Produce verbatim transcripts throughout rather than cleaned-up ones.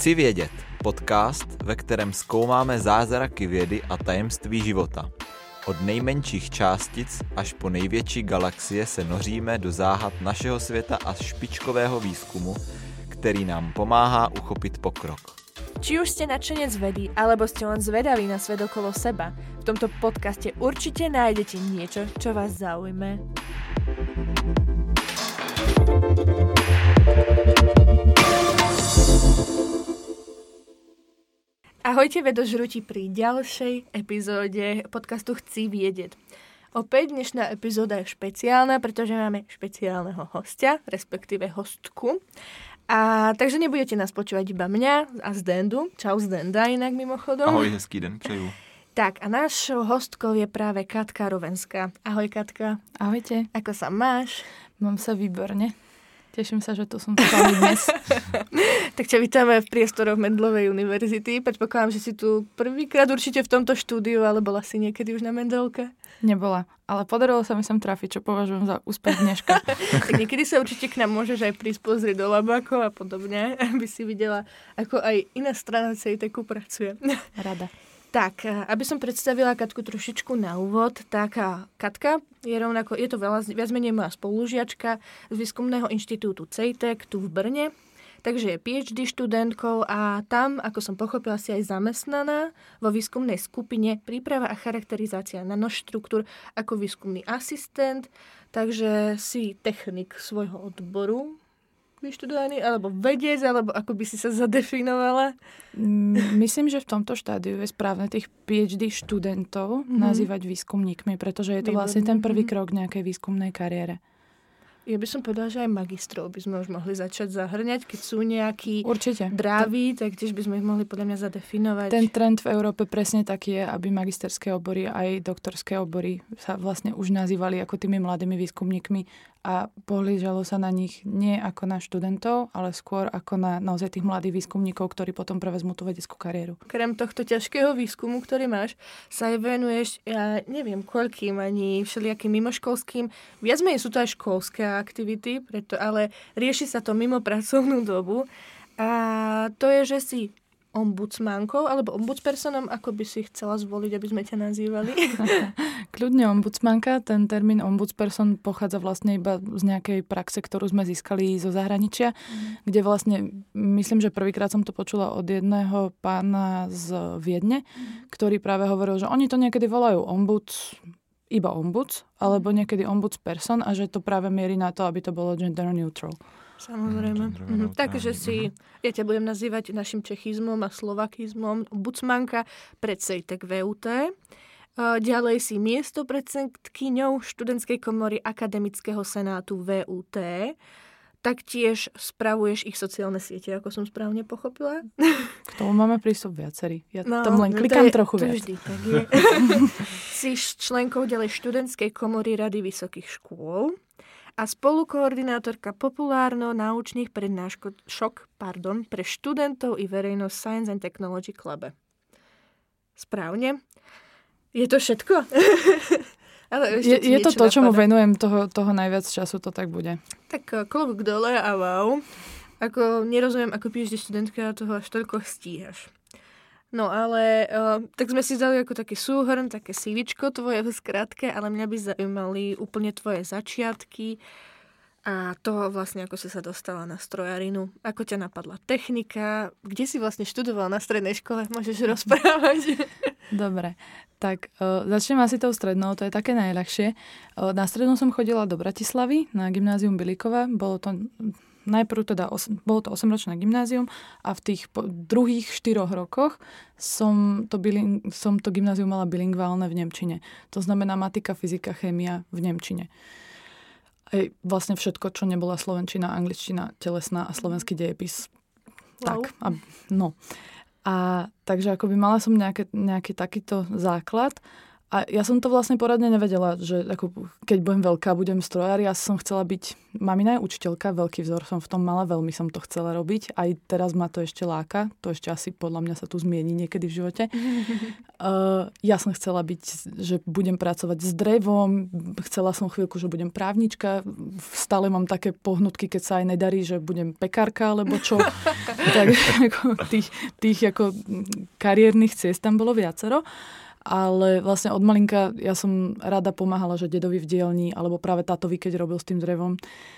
Chci vědět, podcast, ve kterém zkoumáme zázraky vědy a tajemství života. Od nejmenších částic až po největší galaxie se noříme do záhad našeho světa a špičkového výzkumu, který nám pomáhá uchopit pokrok. Či už ste nadšenec vedy, alebo ste len zvedaví na svet okolo seba, v tomto podcaste určite nájdete niečo, čo vás zaujme. Ahojte vedožrúti pri ďalšej epizóde podcastu Chci vědět. Opäť dnešná epizóda je špeciálna, pretože máme špeciálneho hostia, respektíve hostku. A takže nebudete nás počúvať iba mňa a Zdendu. Čau Zdenda inak mimochodom. Ahoj, hezký den, přeju. Tak a našou hostkou je práve Katka Rovenská. Ahoj Katka. Ahojte. Ako sa máš? Mám sa výborne. Teším sa, že tu som s vami dnes. Tak ťa vítame v priestoroch Mendelovej univerzity. Predpokladám, že si tu prvýkrát určite v tomto štúdiu, ale bola si niekedy už na Mendelke? Nebola, ale podarilo sa mi sem trafiť, čo považujem za úspech dneška. Tak niekedy sa určite k nám môžeš aj prísť pozrieť do labákov a podobne, aby si videla, ako aj iná strana CEITECu pracuje. Rada. Tak, aby som predstavila Katku trošičku na úvod, tak Katka je rovnako, je to veľa, viac menej moja spolužiačka z Výskumného inštitútu CEITEC tu v Brne, takže je PhD študentkou a tam, ako som pochopila, si aj zamestnaná vo výskumnej skupine Príprava a charakterizácia nanoštruktúr ako výskumný asistent, takže si technik svojho odboru vyštudovaný, alebo vedec, alebo ako by si sa zadefinovala? Myslím, že v tomto štádiu je správne tých PhD študentov mm-hmm. nazývať výskumníkmi, pretože je to vlastne ten prvý krok nejakej výskumnej kariére. Ja by som povedala, že aj magistrov by sme už mohli začať zahrňať, keď sú nejakí Určite. drávi, tak tiež by sme ich mohli podľa mňa zadefinovať. Ten trend v Európe presne taký je, aby magisterské obory aj doktorské obory sa vlastne už nazývali ako tými mladými výskumníkmi a pohlížalo sa na nich nie ako na študentov, ale skôr ako na naozaj tých mladých výskumníkov, ktorí potom prevezmú tú vedeckú kariéru. Krem tohto ťažkého výskumu, ktorý máš, sa aj venuješ, ja neviem koľkým, ani všelijakým mimoškolským. Viac menej sú to aj školské aktivity, preto, ale rieši sa to mimo pracovnú dobu. A to je, že si ombudsmankou alebo ombudspersonom, ako by si chcela zvoliť, aby sme ťa nazývali? Kľudne ombudsmanka. Ten termín ombudsperson pochádza vlastne iba z nejakej praxe, ktorú sme získali zo zahraničia, mm. kde vlastne, myslím, že prvýkrát som to počula od jedného pána z Viedne, mm. ktorý práve hovoril, že oni to niekedy volajú ombuds, iba ombuds, alebo niekedy ombudsperson a že to práve mierí na to, aby to bolo gender neutral. Samozrejme. Mm, mm, Takže si, ja ťa budem nazývať našim čechizmom a slovakizmom ombudsmanka pred CEITEC vé ú té. Ďalej si miesto predsedkyňou študentskej komory Akademického senátu vé ú té. Taktiež spravuješ ich sociálne siete, ako som správne pochopila. K tomu máme prístup viacerí. Ja no, tam len klikám to je, trochu to viac. Vždy tak je. Si členkou ďalej študentskej komory Rady vysokých škôl a spolukoordinátorka populárno-naučných prednášok pardon, pre študentov i verejnosť Science and Technology Clube. Správne? Je to všetko? Ale je je to to, čomu venujem toho, toho najviac času, to tak bude. Tak klobúk dole a wow. Ako nerozumiem, ako PhD študentka toho až toľko stíhaš. No ale uh, tak sme si dali ako taký súhrn, také CVčko tvoje v skratke, ale mňa by zaujímali úplne tvoje začiatky a toho vlastne, ako si sa dostala na strojarinu. Ako ťa napadla technika, kde si vlastne študovala na strednej škole, môžeš rozprávať? Dobre, tak uh, začnem asi tou strednou, to je také najľahšie. Uh, na strednú som chodila do Bratislavy, na gymnázium Bilíkova, bolo to... Najprv teda, os- bolo to osemročné gymnázium a v tých po- druhých štyroch rokoch som to, biling- som to gymnázium mala bilingválne v nemčine. To znamená matika, fyzika, chémia v nemčine. Aj vlastne všetko, čo nebola slovenčina, angličtina, telesná a slovenský dejepis. Wow. Tak, a, no. A takže akoby mala som nejaké, nejaký takýto základ A ja som to vlastne poradne nevedela, že ako, keď budem veľká, budem strojár. Ja som chcela byť, mamina je učiteľka, veľký vzor som v tom mala, veľmi som to chcela robiť. Aj teraz ma to ešte láka, to ešte asi podľa mňa sa tu zmieni niekedy v živote. uh, ja som chcela byť, že budem pracovať s drevom, chcela som chvíľku, že budem právnička, stále mám také pohnutky, keď sa aj nedarí, že budem pekárka, alebo čo. Tak ako, tých, tých ako kariérnych ciest tam bolo viacero. Ale vlastne od malinka ja som rada pomáhala, že dedovi v dielni, alebo práve tátovi, keď robil s tým drevom.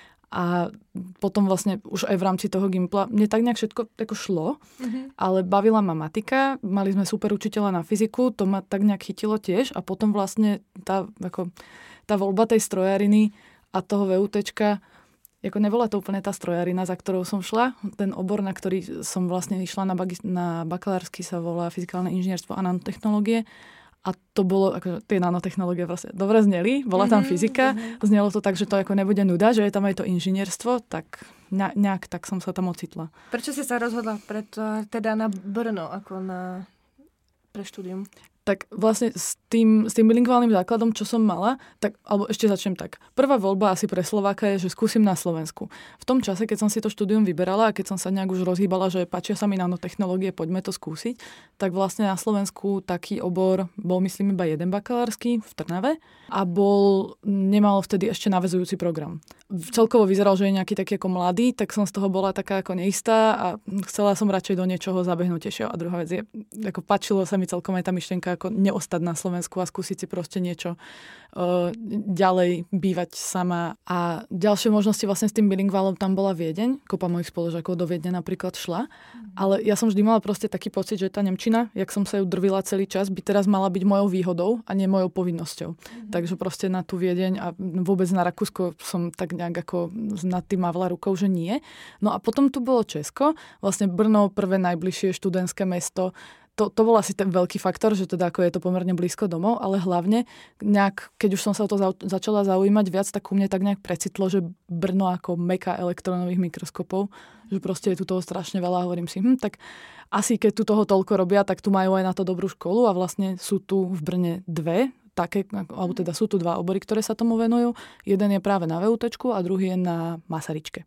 A potom vlastne už aj v rámci toho Gimpla mne tak nejak všetko tako šlo, mm-hmm. ale bavila ma matika, mali sme super učiteľa na fyziku, to ma tak nejak chytilo tiež a potom vlastne tá, ako, tá voľba tej strojariny a toho VUTčka, ako nebola to úplne tá strojarina, za ktorou som šla. Ten obor, na ktorý som vlastne išla na, bagi- na bakalársky, sa volá fyzikálne inžinierstvo a nanotechnológie. A to bolo, akože tie nanotechnológie vlastne dobre zneli, bola tam fyzika, mm-hmm. znelo to tak, že to ako nebude nuda, že je tam aj to inžinierstvo, tak nejak tak som sa tam ocitla. Prečo si sa rozhodla pred, teda na Brno, ako na, pre štúdium? Tak vlastne s tým, s tým bilingválnym základom, čo som mala, tak, alebo ešte začnem tak. Prvá voľba asi pre Slováka je, že skúsim na Slovensku. V tom čase, keď som si to štúdium vyberala a keď som sa nejak už rozhýbala, že páčia sa mi nanotechnológie, poďme to skúsiť, tak vlastne na Slovensku taký obor bol, myslím, iba jeden bakalársky v Trnave a bol, nemal vtedy ešte naväzujúci program. Celkovo vyzeral, že je nejaký taký ako mladý, tak som z toho bola taká ako neistá a chcela som radšej do niečoho zabehnutejšieho. A druhá vec je, ako páčilo sa mi celkom aj tá myšlienka ako neostať na Slovensku a skúsiť si proste niečo uh, ďalej bývať sama. A ďalšie možnosti vlastne s tým bilingválom tam bola Viedeň. Kopa mojich spolužiakov do Viedne napríklad šla. Mm. Ale ja som vždy mala proste taký pocit, že tá nemčina, jak som sa ju drvila celý čas, by teraz mala byť mojou výhodou a nie mojou povinnosťou. Mm. Takže proste na tú Viedeň a vôbec na Rakúsko som tak nejak ako nad tým mávla rukou, že nie. No a potom tu bolo Česko, vlastne Brno, prvé najbližšie študentské mesto. To, to bol asi ten veľký faktor, že teda ako je to pomerne blízko domov, ale hlavne nejak, keď už som sa o to za, začala zaujímať viac, tak u mne tak nejak precitlo, že Brno ako meka elektrónových mikroskopov, že proste je tu toho strašne veľa a hovorím si, hm, tak asi keď tu toho toľko robia, tak tu majú aj na to dobrú školu a vlastne sú tu v Brne dve, také, alebo teda sú tu dva obory, ktoré sa tomu venujú. Jeden je práve na VUTčku a druhý je na Masaryčke.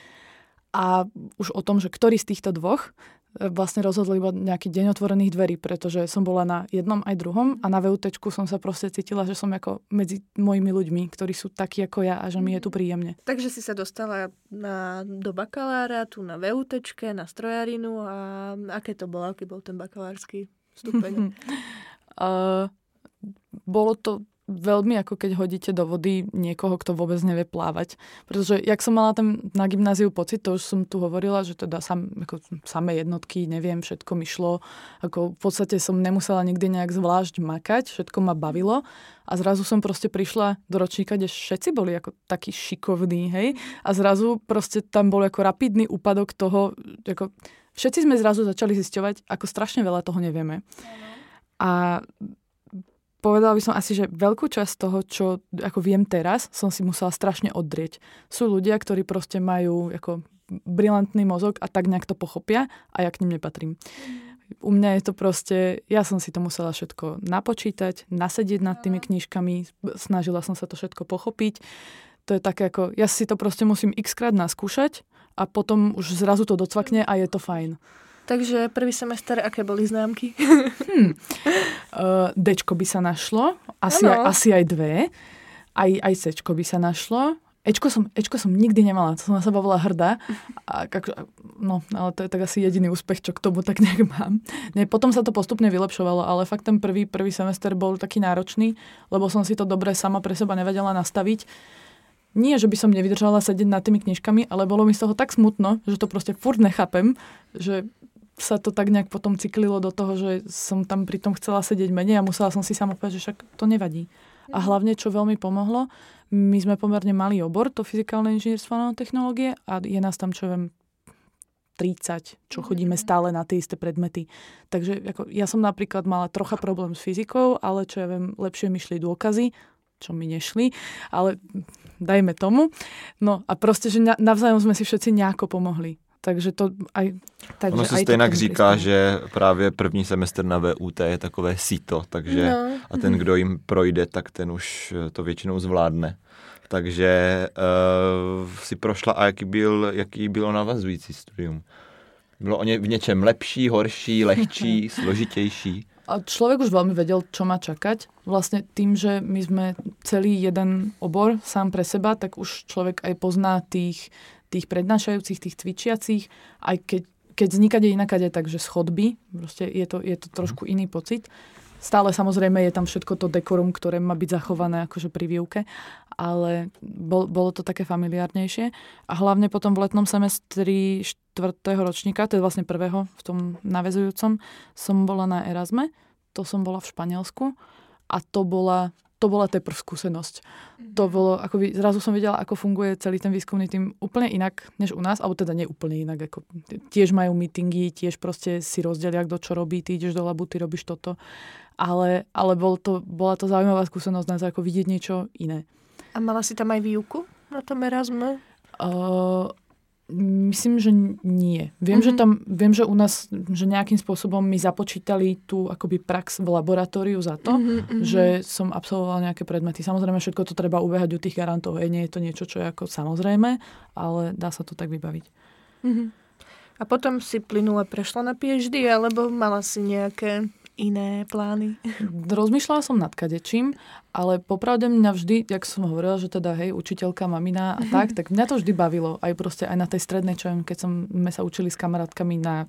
A už o tom, že ktorý z týchto dvoch vlastne rozhodli iba nejaký deň otvorených dverí, pretože som bola na jednom aj druhom a na VUTčku som sa proste cítila, že som ako medzi mojimi ľuďmi, ktorí sú takí ako ja a že mi je tu príjemne. Takže si sa dostala na, do bakalára, tu na VUTčke, na strojarinu a aké to bolo, aký bol ten bakalársky stupeň? uh, bolo to veľmi ako keď hodíte do vody niekoho, kto vôbec nevie plávať. Pretože jak som mala tam na gymnáziu pocit, to už som tu hovorila, že teda sam, ako samé jednotky, neviem, všetko mi šlo. Ako v podstate som nemusela nikdy nejak zvlášť makať, všetko ma bavilo. A zrazu som proste prišla do ročníka, kde všetci boli ako takí šikovní, hej. A zrazu proste tam bol ako rapidný úpadok toho, ako všetci sme zrazu začali zisťovať, ako strašne veľa toho nevieme. A povedala by som asi, že veľkú časť toho, čo ako viem teraz, som si musela strašne oddrieť. Sú ľudia, ktorí proste majú ako brilantný mozog a tak nejak to pochopia a ja k nim nepatrím. U mňa je to proste, ja som si to musela všetko napočítať, nasedieť nad tými knižkami, snažila som sa to všetko pochopiť. To je také ako, ja si to proste musím x-krát naskúšať a potom už zrazu to docvakne a je to fajn. Takže prvý semester, aké boli známky? Hmm. Uh, Dčko by sa našlo, asi, aj, asi aj dve. Aj, aj Cčko by sa našlo. Ečko som, Ečko som nikdy nemala, to som na seba bola hrdá. A, no, ale to je tak asi jediný úspech, čo k tomu tak nejak mám. Nie, potom sa to postupne vylepšovalo, ale fakt ten prvý, prvý semester bol taký náročný, lebo som si to dobre sama pre seba nevedela nastaviť. Nie, že by som nevydržala sedieť nad tými knižkami, ale bolo mi z toho tak smutno, že to proste furt nechápem, že sa to tak nejak potom cyklilo do toho, že som tam pritom chcela sedieť menej a musela som si sama povedať, že však to nevadí. A hlavne, čo veľmi pomohlo, my sme pomerne malý obor, to fyzikálne inžinierstvo a nanotechnológie a je nás tam, čo viem, tridsať, čo chodíme stále na tie isté predmety. Takže ako, ja som napríklad mala trocha problém s fyzikou, ale čo ja viem, lepšie mi šli dôkazy, čo mi nešli, ale dajme tomu. No a proste, že navzájom sme si všetci nejako pomohli. takže to aj... Takže ono se aj stejnak říká, že právě první semestr na V U T je takové síto, takže no. a ten, kdo jim projde, tak ten už to většinou zvládne. Takže uh, si prošla a jaký, byl, jaký bylo navazující studium? Bylo o ně, v něčem lepší, horší, lehčí, složitější? A človek už veľmi vedel, čo má čakať. Vlastne tým, že my sme celý jeden obor sám pre seba, tak už človek aj pozná tých, tých prednášajúcich, tých cvičiacich, aj keď, keď vznikade inakade, takže schodby. Proste je to, je to trošku iný pocit. Stále samozrejme je tam všetko to dekorum, ktoré má byť zachované akože pri výuke, ale bol, bolo to také familiárnejšie. A hlavne potom v letnom semestri štvrtého ročníka, to je vlastne prvého v tom naväzujúcom, som bola na Erasme, to som bola v Španielsku a to bola, to bola teprv skúsenosť. To bolo, akoby, zrazu som videla, ako funguje celý ten výskumný tým úplne inak, než u nás, alebo teda nie úplne inak. Ako, tiež majú meetingy, tiež proste si rozdelia, kto čo robí, ty ideš do labu, ty robíš toto. Ale, ale bol to, bola to zaujímavá skúsenosť na to, ako vidieť niečo iné. A mala si tam aj výuku na tom Erasme? Uh, myslím, že nie. Viem, mm-hmm. že tam, viem, že u nás, že nejakým spôsobom mi započítali tú akoby prax v laboratóriu za to, mm-hmm. že som absolvovala nejaké predmety. Samozrejme, všetko to treba ubehať u tých garantov. Hej, nie je to niečo, čo je ako samozrejme, ale dá sa to tak vybaviť. Mm-hmm. A potom si plynule prešla na PhD, alebo mala si nejaké iné plány? Rozmýšľala som nad kadečím, ale popravde mňa vždy, jak som hovorila, že teda hej, učiteľka, mamina a tak, tak mňa to vždy bavilo. Aj proste aj na tej strednej, čo viem, keď som, sme sa učili s kamarátkami na,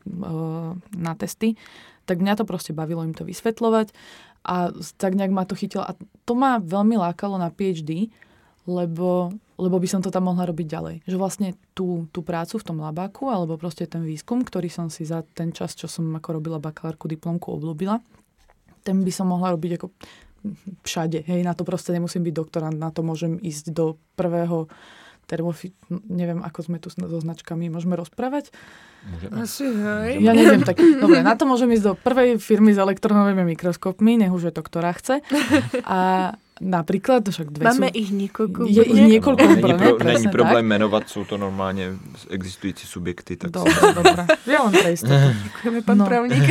na testy, tak mňa to proste bavilo im to vysvetľovať a tak nejak ma to chytilo. A to ma veľmi lákalo na PhD, lebo, lebo by som to tam mohla robiť ďalej. Že vlastne tú, tú prácu v tom labáku, alebo proste ten výskum, ktorý som si za ten čas, čo som ako robila bakalárku, diplomku, obľúbila, ten by som mohla robiť ako všade. Hej, na to proste nemusím byť doktorant, na to môžem ísť do prvého termofi... Neviem, ako sme tu so značkami. Môžeme rozprávať? Môžeme. Asi, hej. Ja neviem, tak dobre, na to môžem ísť do prvej firmy s elektronovými mikroskopmi, nech už je to ktorá chce. A napríklad, však dve Máme sú... ich niekoľko. Je ich niekoľko no, úplne, není, pro, presne není problém tak. jmenovat, jsou to normálně existující subjekty. Tak dobre, dobre. Ja len pre istotu. Ďakujeme, pán No. právnik.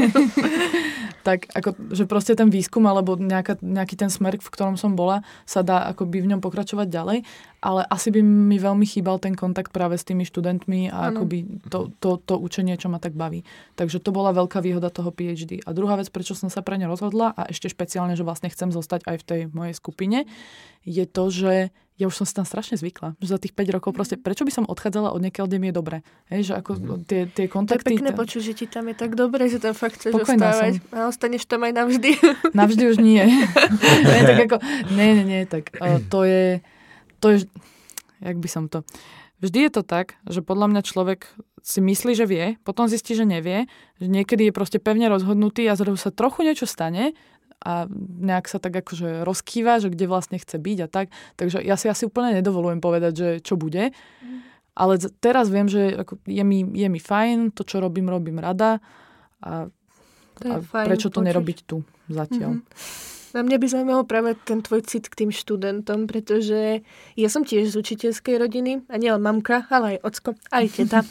Tak ako, že proste ten výskum alebo nejaká, nejaký ten smer, v ktorom som bola, sa dá akoby v ňom pokračovať ďalej, ale asi by mi veľmi chýbal ten kontakt práve s tými študentmi a ano. akoby to, to, to učenie, čo ma tak baví. Takže to bola veľká výhoda toho PhD. A druhá vec, prečo som sa pre ne rozhodla a ešte špeciálne, že vlastne chcem zostať aj v tej mojej skupine, je to, že ja už som si tam strašne zvykla. Že za tých päť rokov proste, prečo by som odchádzala od niekiaľ, kde mi je dobre. Hej, že ako mm-hmm. tie, tie kontakty... To je pekné počuť, že ti tam je tak dobre, že tam fakt chceš Spokojná ostávať. som. A ostaneš tam aj navždy. Navždy už nie. nie, tak ako, nie, nie, nie, tak uh, to je, to je, jak by som to... Vždy je to tak, že podľa mňa človek si myslí, že vie, potom zistí, že nevie, že niekedy je proste pevne rozhodnutý a zrazu sa trochu niečo stane a nejak sa tak akože rozkýva, že kde vlastne chce byť a tak. Takže ja si asi úplne nedovolujem povedať, že čo bude. Ale teraz viem, že ako je, mi, je mi fajn, to, čo robím, robím rada a, a prečo to počuť. Nerobiť tu zatiaľ. Mm-hmm. Na mňa by zaujímalo práve ten tvoj cit k tým študentom, pretože ja som tiež z učiteľskej rodiny a nielen mamka, ale aj ocko, aj teta.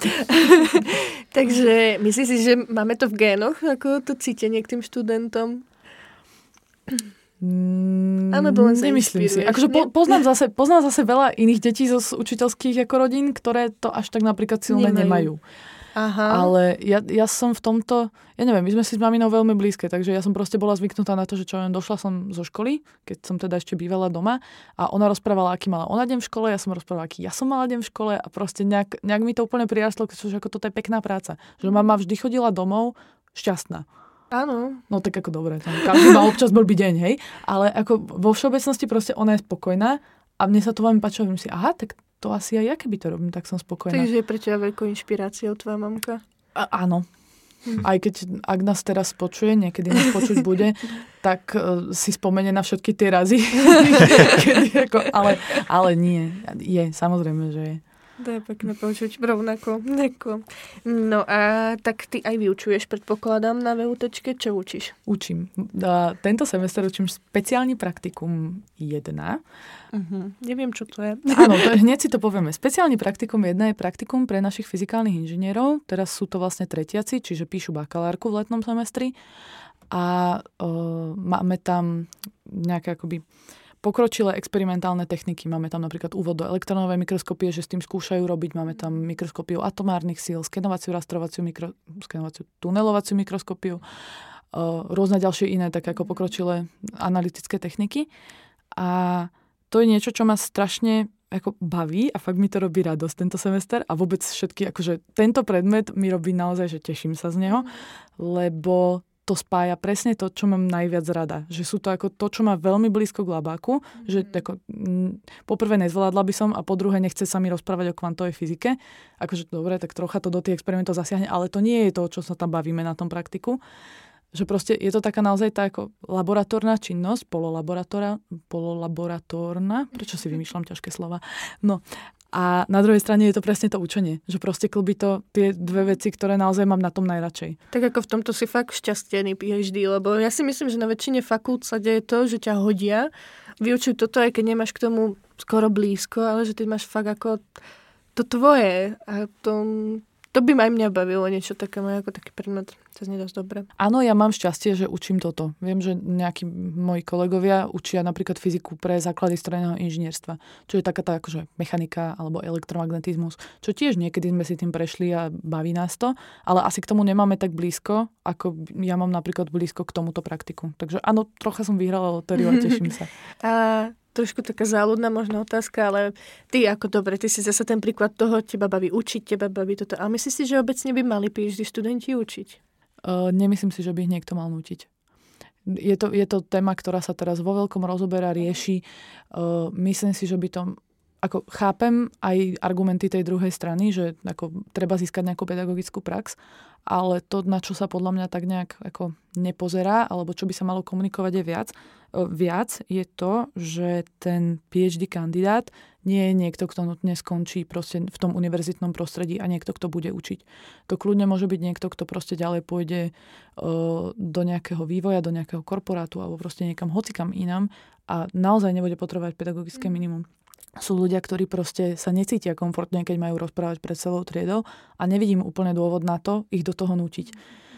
Takže myslíš si, že máme to v génoch, ako to cítenie k tým študentom? Mm, Alebo len sa nemyslím si. Akože po, poznám, zase, poznám zase veľa iných detí zo učiteľských ako rodín, ktoré to až tak napríklad silné nemajú. nemajú. Aha. Ale ja, ja som v tomto, ja neviem, my sme si s maminou veľmi blízke, takže ja som proste bola zvyknutá na to, že čo došla som zo školy, keď som teda ešte bývala doma a ona rozprávala, aký mala ona deň v škole, ja som rozprávala, aký ja som mala deň v škole a proste nejak, nejak mi to úplne prirastlo, že ako toto je pekná práca. Že mama vždy chodila domov šťastná. Áno. No tak ako dobre, tam každý má občas blbý deň, hej, ale ako vo všeobecnosti proste ona je spokojná a mne sa to veľmi páčilo, že si, aha, tak to asi aj ja, keby to robím, tak som spokojná. Takže je pre teba veľkou inšpiráciou tvoja mamka? A, áno. Hm. Aj keď, ak nás teraz počuje, niekedy nás počuť bude, tak uh, si spomene na všetky tie razy. Kedy, ako, ale, ale nie, je, samozrejme, že je. To je pekné počuť, rovnako. Neko. No a tak ty aj vyučuješ, predpokladám, na VUTčke. Čo učíš? Učím. A tento semester učím špeciálny praktikum jedna. Uh-huh. Neviem, čo to je. Áno, to, hneď si to povieme. Speciálny praktikum jedna je praktikum pre našich fyzikálnych inžinierov. Teraz sú to vlastne tretiaci, čiže píšu bakalárku v letnom semestri. A uh, máme tam nejaké akoby pokročilé experimentálne techniky. Máme tam napríklad úvod do elektronovej mikroskopie, že s tým skúšajú robiť. Máme tam mikroskopiu atomárnych síl, skenovaciu, rastrovaciu, mikro, skenovaciu tunelovaciu mikroskopiu, uh, rôzne ďalšie iné, tak ako pokročilé analytické techniky. A to je niečo, čo ma strašne ako baví a fakt mi to robí radosť tento semester a vôbec všetky, akože tento predmet mi robí naozaj, že teším sa z neho, lebo to spája presne to, čo mám najviac rada. Že sú to ako to, čo má veľmi blízko k labáku, mm-hmm. že ako, m, poprvé nezvládla by som a po druhé nechce sa mi rozprávať o kvantovej fyzike. Akože dobre, tak trocha to do tých experimentov zasiahne, ale to nie je to, čo sa tam bavíme na tom praktiku. Že proste je to taká naozaj tá ako laboratórna činnosť, pololaboratórna, prečo si vymýšľam ťažké slova. No a na druhej strane je to presne to učenie, že proste klbí to tie dve veci, ktoré naozaj mám na tom najradšej. Tak ako v tomto si fakt šťastený PhD, lebo ja si myslím, že na väčšine fakult sa deje to, že ťa hodia, vyučujú toto, aj keď nemáš k tomu skoro blízko, ale že ty máš fakt ako to tvoje a to... To by ma aj mňa bavilo, niečo také, ako taký predmet sa znie dosť dobre. Áno, ja mám šťastie, že učím toto. Viem, že nejakí moji kolegovia učia napríklad fyziku pre základy strojného inžinierstva, čo je taká tá akože mechanika alebo elektromagnetizmus, čo tiež niekedy sme si tým prešli a baví nás to, ale asi k tomu nemáme tak blízko, ako ja mám napríklad blízko k tomuto praktiku. Takže áno, trocha som vyhrala lotériu a teším sa. A trošku taká záľudná možná otázka, ale ty ako dobre, ty si zase ten príklad toho, teba baví učiť, teba baví toto. Ale myslíš si, že obecne by mali PhD študenti učiť? Uh, nemyslím si, že by ich niekto mal nútiť. Je to, je to téma, ktorá sa teraz vo veľkom rozoberá, rieši. Uh, myslím si, že by to... Ako chápem aj argumenty tej druhej strany, že ako treba získať nejakú pedagogickú prax, ale to, na čo sa podľa mňa tak nejak ako nepozerá, alebo čo by sa malo komunikovať je viac, viac je to, že ten PhD kandidát nie je niekto, kto nutne skončí proste v tom univerzitnom prostredí a niekto, kto bude učiť. To kľudne môže byť niekto, kto proste ďalej pôjde uh, do nejakého vývoja, do nejakého korporátu alebo proste niekam hocikam inám a naozaj nebude potrebovať pedagogické minimum. Sú ľudia, ktorí proste sa necítia komfortne, keď majú rozprávať pred celou triedou a nevidím úplne dôvod na to ich do toho nútiť.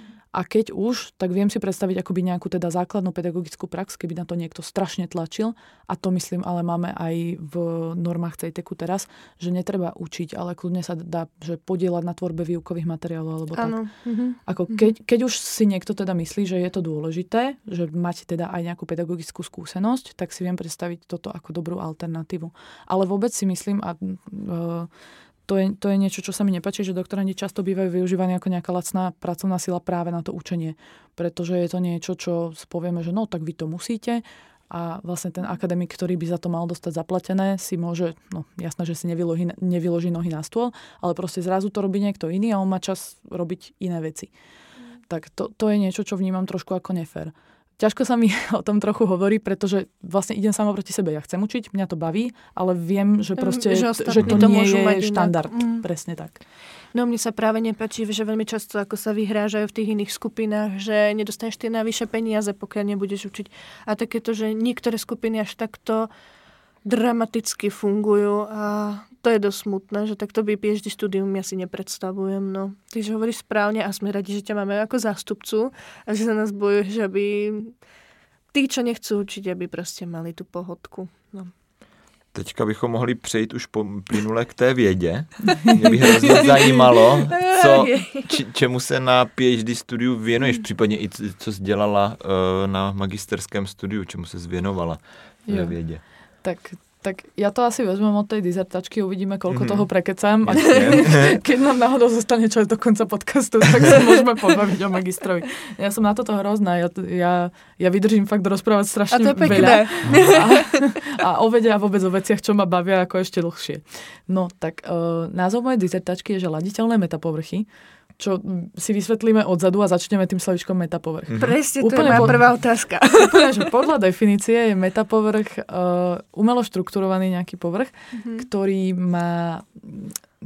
A keď už, tak viem si predstaviť akoby nejakú teda základnú pedagogickú prax, keby na to niekto strašne tlačil. A to myslím, ale máme aj v normách CEITECu teraz, že netreba učiť, ale kľudne sa dá že podieľať na tvorbe výukových materiálov alebo tak. Mm-hmm. Ako keď, keď už si niekto teda myslí, že je to dôležité, že máte teda aj nejakú pedagogickú skúsenosť, tak si viem predstaviť toto ako dobrú alternatívu. Ale vôbec si myslím a uh, To je, to je niečo, čo sa mi nepáči, že doktorandi často bývajú využívaní ako nejaká lacná pracovná sila práve na to učenie. Pretože je to niečo, čo povieme, že no, tak vy to musíte a vlastne ten akademik, ktorý by za to mal dostať zaplatené, si môže, no jasné, že si nevyloží, nevyloží nohy na stôl, ale proste zrazu to robí niekto iný a on má čas robiť iné veci. Mm. Tak to, to je niečo, čo vnímam trošku ako nefér. Ťažko sa mi o tom trochu hovorí, pretože vlastne idem sama proti sebe. Ja chcem učiť, mňa to baví, ale viem, že proste, že, že to, to nie je štandard. Mm. Presne tak. No mne sa práve nepáči, že veľmi často ako sa vyhrážajú v tých iných skupinách, že nedostaneš tie navyše peniaze, pokiaľ nebudeš učiť. A takéto, že niektoré skupiny až takto dramaticky fungujú a to je dosť smutné, že takto by PhD štúdium ja si nepredstavujem. No. Tyže hovoríš správne a sme radi, že ťa máme ako zástupcu a že za nás bojuješ, aby tí, čo nechcú učiť, aby proste mali tu pohodku. No. Teďka bychom mohli přejít už plynule k té vědě. Mě by hrozně zajímalo, co, či, čemu se na PhD studiu věnuješ, případně i co jsi dělala uh, na magisterském studiu, čemu se zvěnovala ve vědě. Tak, tak ja to asi vezmem od tej dizertačky, uvidíme, koľko mm-hmm. toho prekecám. A keď nám náhodou zostane čas do konca podcastu, tak sa môžeme pobaviť o magistrovi. Ja som na toto hrozná. Ja, ja, ja vydržím fakt rozprávať strašne a to veľa. A, a o vede a vôbec o veciach, čo ma bavia ako ešte dlhšie. No, tak uh, názov mojej dizertačky je, že laditeľné metapovrchy, čo si vysvetlíme odzadu a začneme tým slovičkom metapovrch. Mm-hmm. Presne, to úplne je moja prvá otázka. Úplne, že podľa definície je metapovrch uh, umelo štrukturovaný nejaký povrch, mm-hmm. ktorý má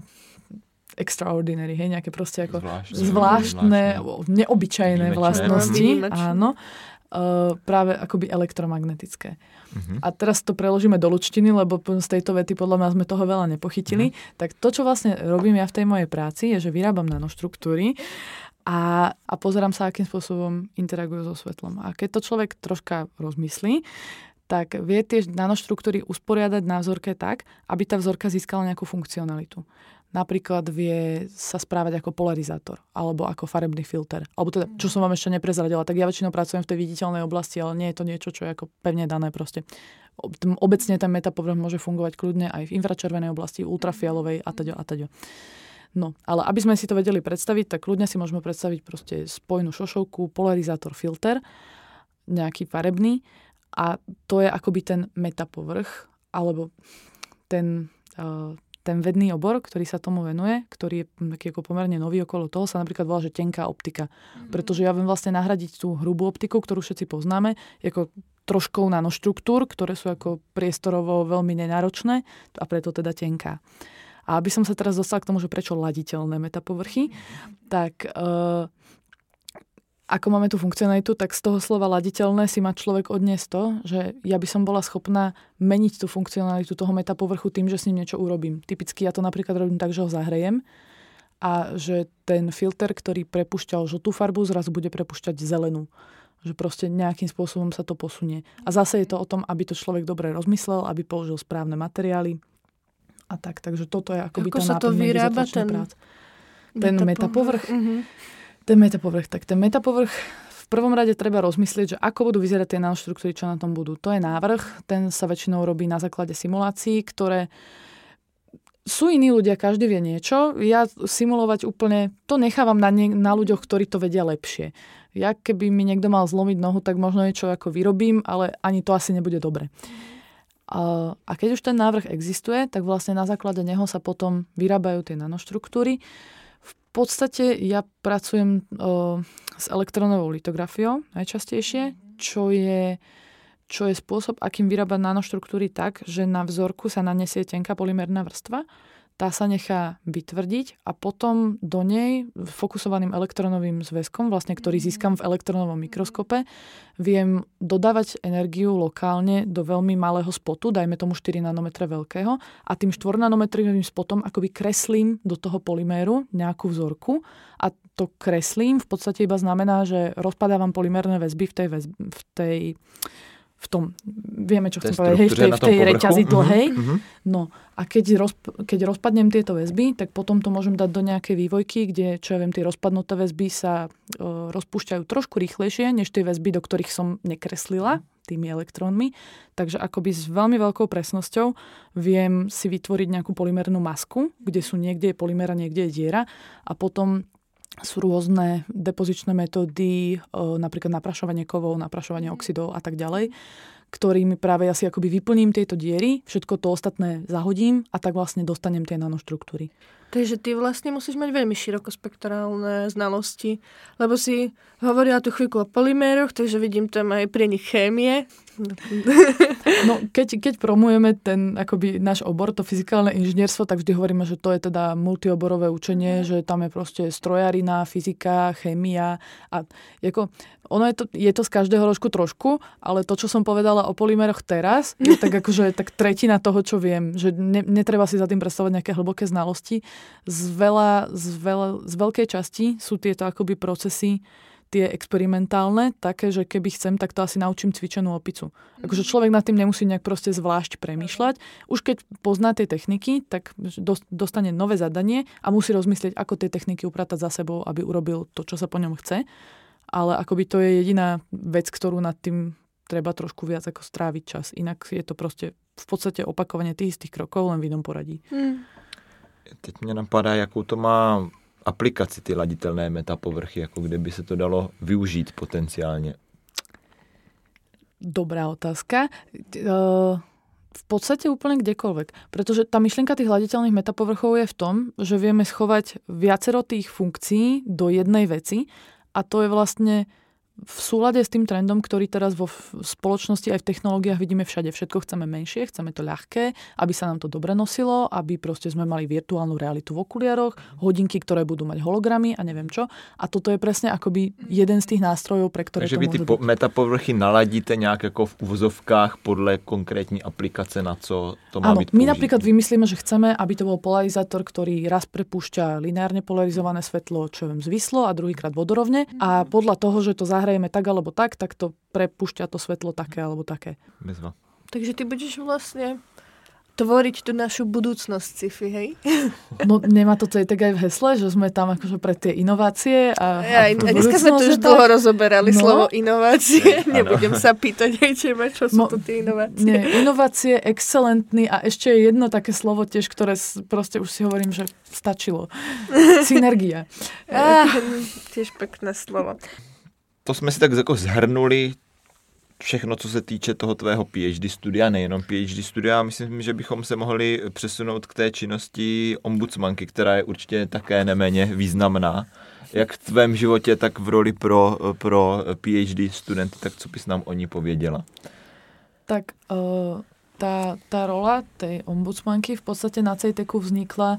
extraordinary, hej, nejaké proste ako zvláštne, zvláštne, zvláštne. neobyčajné Výjimečné. vlastnosti. Výjimečné. Áno. Uh, práve akoby elektromagnetické. Uh-huh. A teraz to preložíme do ľučtiny, lebo z tejto vety podľa mňa sme toho veľa nepochytili. Uh-huh. Tak to, čo vlastne robím ja v tej mojej práci, je, že vyrábam nanoštruktúry a, a pozerám sa, akým spôsobom interagujú so svetlom. A keď to človek troška rozmyslí, tak vie tie nanoštruktúry usporiadať na vzorke tak, aby tá vzorka získala nejakú funkcionalitu. Napríklad vie sa správať ako polarizátor alebo ako farebný filter. Alebo teda, čo som vám ešte neprezradila, tak ja väčšinou pracujem v tej viditeľnej oblasti, ale nie je to niečo, čo je ako pevne dané proste. Obecne ten metapovrch môže fungovať kľudne aj v infračervenej oblasti, ultrafialovej a taďo a taďo. No, ale aby sme si to vedeli predstaviť, tak kľudne si môžeme predstaviť proste spojnú šošovku, polarizátor, filter, nejaký farebný a to je akoby ten metapovrch alebo ten... Uh, ten vedný obor, ktorý sa tomu venuje, ktorý je taký ako pomerne nový okolo toho, sa napríklad volá, že tenká optika. Mm-hmm. Pretože ja viem vlastne nahradiť tú hrubú optiku, ktorú všetci poznáme, ako troškou nanoštruktúr, ktoré sú ako priestorovo veľmi nenáročné a preto teda tenká. A aby som sa teraz dostala k tomu, že prečo laditeľné metapovrchy, mm-hmm. tak... Uh, ako máme tú funkcionalitu, tak z toho slova laditeľné si má človek odniesť to, že ja by som bola schopná meniť tú funkcionalitu toho metapovrchu tým, že s ním niečo urobím. Typicky ja to napríklad robím tak, že ho zahrejem a že ten filter, ktorý prepúšťal žltú farbu, zrazu bude prepúšťať zelenú. Že proste nejakým spôsobom sa to posunie. A zase je to o tom, aby to človek dobre rozmyslel, aby použil správne materiály a tak. Takže toto je akoby Ako to sa to vyrába ten, ten metapovrch? Uh-huh. Ten metapovrch. Tak ten metapovrch v prvom rade treba rozmyslieť, že ako budú vyzerať tie nanoštruktúry, čo na tom budú. To je návrh, ten sa väčšinou robí na základe simulácií, ktoré sú iní ľudia, každý vie niečo. Ja simulovať úplne, to nechávam na, nie, na ľuďoch, ktorí to vedia lepšie. Ja keby mi niekto mal zlomiť nohu, tak možno niečo ako vyrobím, ale ani to asi nebude dobre. A, a keď už ten návrh existuje, tak vlastne na základe neho sa potom vyrábajú tie nanoštruktúry. V podstate ja pracujem o, s elektronovou litografiou najčastejšie, čo je, čo je spôsob, akým vyrábať nanoštruktúry tak, že na vzorku sa nanesie tenká polymerná vrstva, tá sa nechá vytvrdiť a potom do nej fokusovaným elektronovým zväzkom, vlastne, ktorý získam v elektronovom mikroskope, viem dodávať energiu lokálne do veľmi malého spotu, dajme tomu štyri nanometre veľkého, a tým štvornanometrovým spotom akoby kreslím do toho polyméru nejakú vzorku a to kreslím v podstate iba znamená, že rozpadávam polymérne väzby v tej, väzby, v tej v tom, vieme, čo chcem povedať, hej, v tej, v tej reťazi dlhej. Uh-huh. No a keď, roz, keď rozpadnem tieto väzby, tak potom to môžem dať do nejakej vývojky, kde, čo ja viem, tie rozpadnuté väzby sa uh, rozpúšťajú trošku rýchlejšie, než tie väzby, do ktorých som nekreslila tými elektrónmi. Takže akoby s veľmi veľkou presnosťou viem si vytvoriť nejakú polymernú masku, kde sú niekde je polymér a niekde je diera a potom sú rôzne depozičné metódy, napríklad naprašovanie kovov, naprašovanie oxidov a tak ďalej, ktorými práve ja si akoby vyplním tieto diery, všetko to ostatné zahodím a tak vlastne dostanem tie nanoštruktúry. Takže ty vlastne musíš mať veľmi širokospektrálne znalosti, lebo si hovorila tu chvíľku o polyméroch, takže vidím tam aj pri nich chémie. No, keď, keď promujeme ten akoby náš obor, to fyzikálne inžinierstvo, tak vždy hovoríme, že to je teda multioborové učenie, mm. že tam je proste strojarina, fyzika, chémia a ako, ono je to, je to z každého rožku trošku, ale to, čo som povedala o polyméroch teraz, je tak akože tak tretina toho, čo viem, že ne, netreba si za tým predstavovať nejaké hlboké znalosti. Z, veľa, z, veľa, z veľkej časti sú tieto akoby procesy tie experimentálne, také, že keby chcem, tak to asi naučím cvičenú opicu. Akože človek nad tým nemusí nejak proste zvlášť premýšľať. Už keď pozná tie techniky, tak dostane nové zadanie a musí rozmyslieť, ako tie techniky upratať za sebou, aby urobil to, čo sa po ňom chce. Ale akoby to je jediná vec, ktorú nad tým treba trošku viac ako stráviť čas. Inak je to proste v podstate opakovanie tých istých krokov, len v inom poradí. Hmm. Teď mě napadá, jakou to má aplikaci ty laditelné metapovrchy, jako kde by se to dalo využít potenciálně? Dobrá otázka. V podstate úplne kdekoľvek. Pretože tá myšlienka tých laditeľných metapovrchov je v tom, že vieme schovať viacero tých funkcií do jednej veci a to je vlastne v súlade s tým trendom, ktorý teraz vo spoločnosti aj v technológiách vidíme všade. Všetko chceme menšie, chceme to ľahké, aby sa nám to dobre nosilo, aby proste sme mali virtuálnu realitu v okuliaroch, hodinky, ktoré budú mať hologramy a neviem čo. A toto je presne akoby jeden z tých nástrojov, pre ktoré Takže to vy môže ty byť. po- metapovrchy naladíte nejak ako v uvozovkách podle konkrétní aplikace, na co to má Áno, byť my použité. napríklad vymyslíme, že chceme, aby to bol polarizátor, ktorý raz prepúšťa lineárne polarizované svetlo, čo viem, zvislo a druhýkrát vodorovne. A podľa toho, že to zahrajeme tak alebo tak, tak to prepúšťa to svetlo také alebo také. Bezva. Takže ty budeš vlastne tvoriť tú našu budúcnosť sci-fi, hej? No nemá to tak aj v hesle, že sme tam akože pre tie inovácie a, Ja, a, a dneska sme tu už dlho rozoberali No. slovo inovácie. Áno. Nebudem sa pýtať, hej, teba, čo sú Mo- to tie inovácie. Nie, inovácie, excelentný a ešte je jedno také slovo tiež, ktoré s- proste už si hovorím, že stačilo. Synergia. Á, tiež pekné slovo. To jsme si tak jako zhrnuli všechno, co se týče toho tvého PhD studia, nejenom PhD studia. Myslím, že bychom se mohli přesunout k té činnosti ombudsmanky, která je určitě také neméně významná. Jak v tvém životě, tak v roli pro, pro PhD studenty, tak co bys nám o ní pověděla? Tak uh, tá, tá rola tej ombudsmanky v podstate na CEITECu vznikla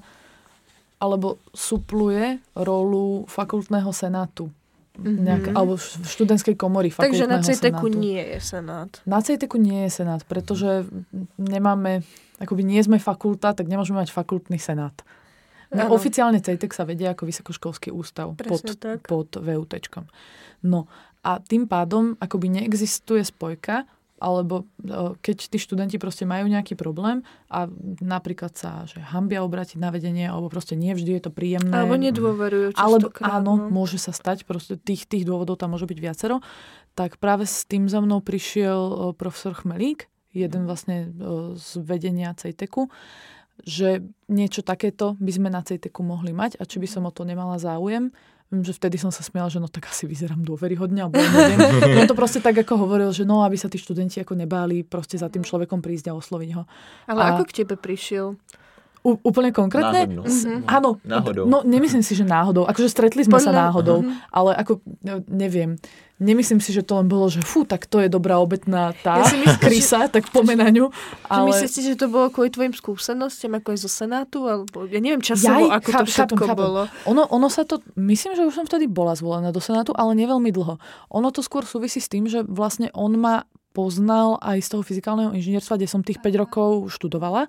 alebo supluje rolu fakultného senátu. Mhm. Nejak, alebo v študentskej komory Takže fakultného na CEITECu senátu. nie je senát. Na CEITECu nie je senát, pretože nemáme, akoby nie sme fakulta, tak nemôžeme mať fakultný senát. Áno. Oficiálne CEITEC sa vedia ako vysokoškolský ústav pod, Presne tak. pod VUTčkom. No a tým pádom akoby neexistuje spojka, alebo o, keď tí študenti proste majú nejaký problém a napríklad sa že hambia obrátiť na vedenie, alebo proste nie vždy je to príjemné. Alebo nedôverujú Alebo častokrát. áno, no. môže sa stať, proste tých, tých dôvodov tam môže byť viacero. Tak práve s tým za mnou prišiel o, profesor Chmelík, jeden vlastne o, z vedenia CEITECu, že niečo takéto by sme na CEITECu mohli mať a či by som o to nemala záujem. Viem, že vtedy som sa smiala, že no tak asi vyzerám dôveryhodne, alebo ja neviem. On to proste tak ako hovoril, že no, aby sa tí študenti ako nebáli proste za tým človekom prísť a osloviť ho. Ale a- ako k tebe prišiel? U, úplne konkrétne? Náhodnou. S- Áno. Náhodou. No, nemyslím si, že náhodou. Akože stretli sme sa Podľa- náhodou, ale ako, no, neviem. Nemyslím si, že to len bolo, že fú, tak to je dobrá obetná tá Ja si myslím, krysa, tak po menaniu. Ale... Ale Myslíš si, že to bolo kvôli tvojim skúsenostiam, ako aj zo Senátu? Alebo ja neviem časovo, Jaj, ako to cháp- všetko chápem, chápem. bolo. ono, ono sa to, myslím, že už som vtedy bola zvolená do Senátu, ale neveľmi dlho. Ono to skôr súvisí s tým, že vlastne on ma poznal aj z toho fyzikálneho inžinierstva, kde som tých päť rokov študovala.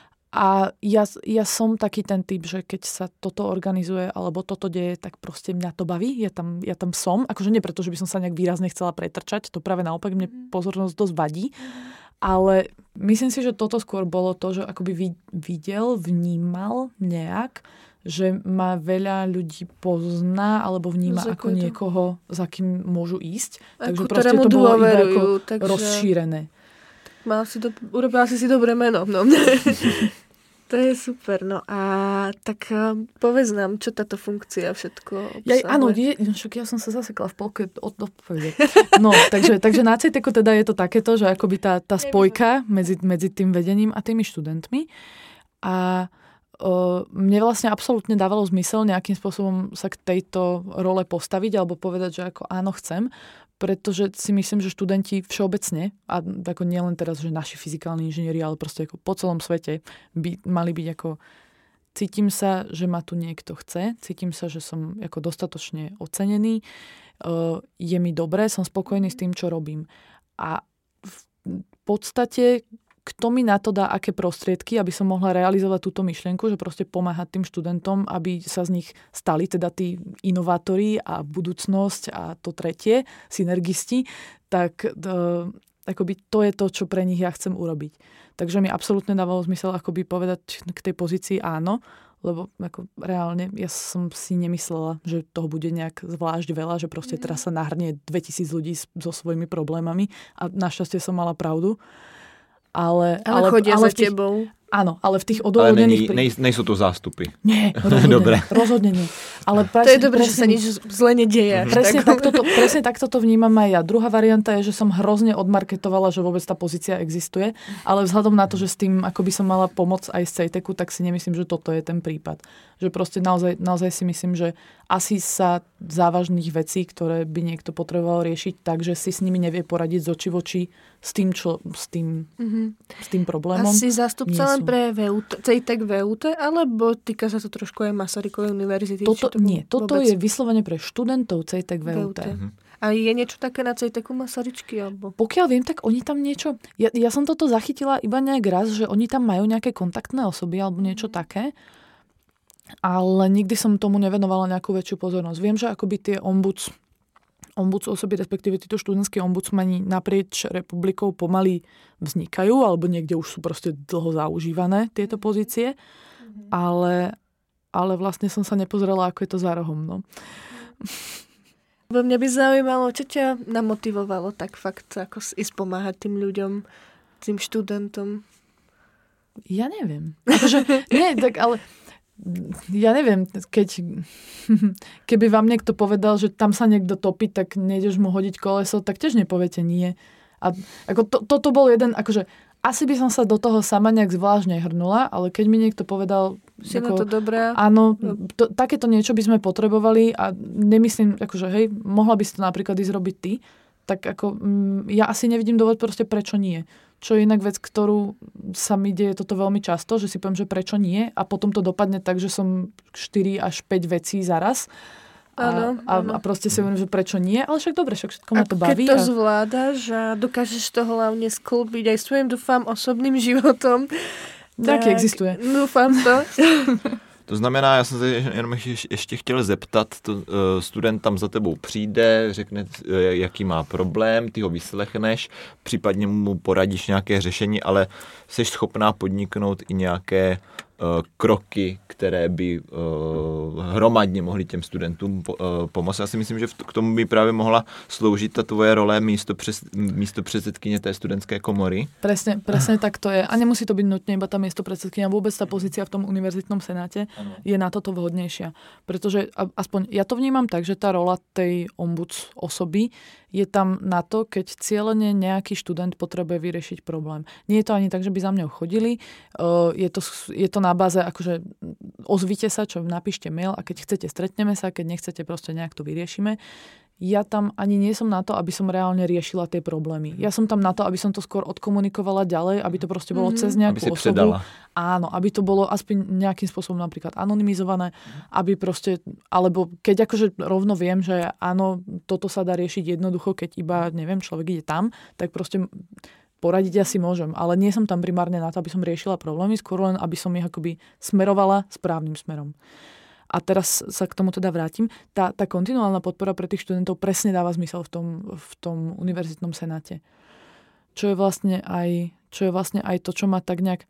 A ja, ja som taký ten typ, že keď sa toto organizuje alebo toto deje, tak proste mňa to baví. Ja tam, ja tam som. Akože nie preto, že by som sa nejak výrazne chcela pretrčať. To práve naopak mne pozornosť dosť vadí. Ale myslím si, že toto skôr bolo to, že akoby vid- videl, vnímal nejak, že ma veľa ľudí pozná alebo vníma Za ako koho to? niekoho, za kým môžu ísť. Takže Ako proste ktorému to bolo iba ako dôverujú, takže- rozšírené. Mal si do... Urobila si si dobré meno. No. To je super. No a tak uh, povedz nám, čo táto funkcia všetko obsahuje. Ja, áno, je, však ja som sa zasekla v polke od odpovede. No, takže, takže na CEITECu teda je to takéto, že akoby tá, tá spojka medzi, medzi tým vedením a tými študentmi. A o, mne vlastne absolútne dávalo zmysel nejakým spôsobom sa k tejto role postaviť alebo povedať, že ako áno, chcem, pretože si myslím, že študenti všeobecne, a ako nielen teraz, že naši fyzikálni inžinieri, ale proste ako po celom svete by mali byť ako cítim sa, že ma tu niekto chce, cítim sa, že som ako dostatočne ocenený, je mi dobré, som spokojný s tým, čo robím. A v podstate kto mi na to dá aké prostriedky, aby som mohla realizovať túto myšlienku, že proste pomáhať tým študentom, aby sa z nich stali teda tí inovátori a budúcnosť a to tretie, synergisti, tak uh, akoby to je to, čo pre nich ja chcem urobiť. Takže mi absolútne dávalo zmysel akoby povedať k tej pozícii áno, lebo ako reálne ja som si nemyslela, že toho bude nejak zvlášť veľa, že proste teraz sa nahrnie dvetisíc ľudí so svojimi problémami a našťastie som mala pravdu. Ale, ale, ale chodia ale za tých, tebou. Áno, ale v tých Ale odôvodnených... není, nej, nejsou to zástupy. Nie, rozhodne, Dobre. rozhodne nie. Ale To je dobré, že sa nič zle nedieje. až Presne tak. takto, to, presne takto to vnímam aj ja. Druhá varianta je, že som hrozne odmarketovala, že vôbec tá pozícia existuje, ale vzhľadom na to, že s tým akoby som mala pomoc aj z CEITECu, tak si nemyslím, že toto je ten prípad. Že proste naozaj, naozaj si myslím, že asi sa závažných vecí, ktoré by niekto potreboval riešiť tak, že si s nimi nevie poradiť z oči v oči s tým, čo, s tým, mm-hmm. s tým problémom. Asi zástupca len pre vé ú té, CEITEC vé ú té, alebo týka sa to trošku aj Masarykovej univerzity? Toto, to nie, toto vôbec... je vyslovene pre študentov CEITEC vé ú té. Mm-hmm. A je niečo také na CEITECu Masaryčky? Alebo... Pokiaľ viem, tak oni tam niečo... Ja, ja som toto zachytila iba nejak raz, že oni tam majú nejaké kontaktné osoby alebo niečo také, ale nikdy som tomu nevenovala nejakú väčšiu pozornosť. Viem, že akoby tie ombuds, ombuds osoby, respektíve títo študentskí ombudsmani naprieč republikou pomaly vznikajú, alebo niekde už sú proste dlho zaužívané tieto pozície, ale, ale vlastne som sa nepozrela, ako je to za rohom. No. Mňa by zaujímalo, čo ťa namotivovalo tak fakt ako ísť pomáhať tým ľuďom, tým študentom? Ja neviem. Akože, nie, tak ale ja neviem, keď keby vám niekto povedal, že tam sa niekto topí, tak nejdeš mu hodiť koleso, tak tiež nepoviete nie. A ako to, toto bol jeden, akože asi by som sa do toho sama nejak zvlášť nehrnula, ale keď mi niekto povedal, si ako, na to dobrá. Áno, to, takéto niečo by sme potrebovali a nemyslím, akože hej, mohla by si to napríklad ísť robiť ty, tak ako mm, ja asi nevidím dôvod proste prečo nie. Čo je inak vec, ktorú sa mi deje toto veľmi často, že si poviem, že prečo nie a potom to dopadne tak, že som štyri až päť vecí zaraz. A, áno, áno. a, a proste si hovorím, že prečo nie, ale však dobre, však všetko ma to baví. Keď to a... zvládaš a dokážeš to hlavne sklbiť aj svojim, dúfam, osobným životom. Taký existuje. Dúfam to. To znamená, já jsem se jenom ještě chtěl zeptat, to, student tam za tebou přijde, řekne, jaký má problém, ty ho vyslechneš, případně mu poradíš nějaké řešení, ale jsi schopná podniknout i nějaké kroky, které by uh, hromadně mohly těm studentům po, uh, pomoct. Já si myslím, že v, k tomu by právě mohla sloužit ta tvoje role místo, přes, místo předsedkyně té studentské komory. Presne, presne tak to je. A nemusí to byť nutne iba tá miesto predsedkyňa. Vôbec tá pozícia v tom univerzitnom senáte ano. je na toto vhodnejšia. Pretože aspoň ja to vnímam tak, že tá rola tej ombuds osoby je tam na to, keď cieľene nejaký študent potrebuje vyriešiť problém. Nie je to ani tak, že by za mňou chodili. Je to, je to na báze, akože ozvite sa, čo napíšte mail a keď chcete, stretneme sa, keď nechcete, proste nejak to vyriešime. Ja tam ani nie som na to, aby som reálne riešila tie problémy. Ja som tam na to, aby som to skôr odkomunikovala ďalej, aby to proste bolo mm-hmm. cez nejakú aby osobu. Áno, aby to bolo aspoň nejakým spôsobom napríklad anonymizované, aby proste, alebo keď akože rovno viem, že áno, toto sa dá riešiť jednoducho, keď iba, neviem, človek ide tam, tak proste poradiť ja si môžem, ale nie som tam primárne na to, aby som riešila problémy, skôr len, aby som ich akoby smerovala správnym smerom. A teraz sa k tomu teda vrátim. Tá, tá kontinuálna podpora pre tých študentov presne dáva zmysel v tom, v tom univerzitnom senáte. Čo je vlastne aj, čo je vlastne aj to, čo ma tak nejak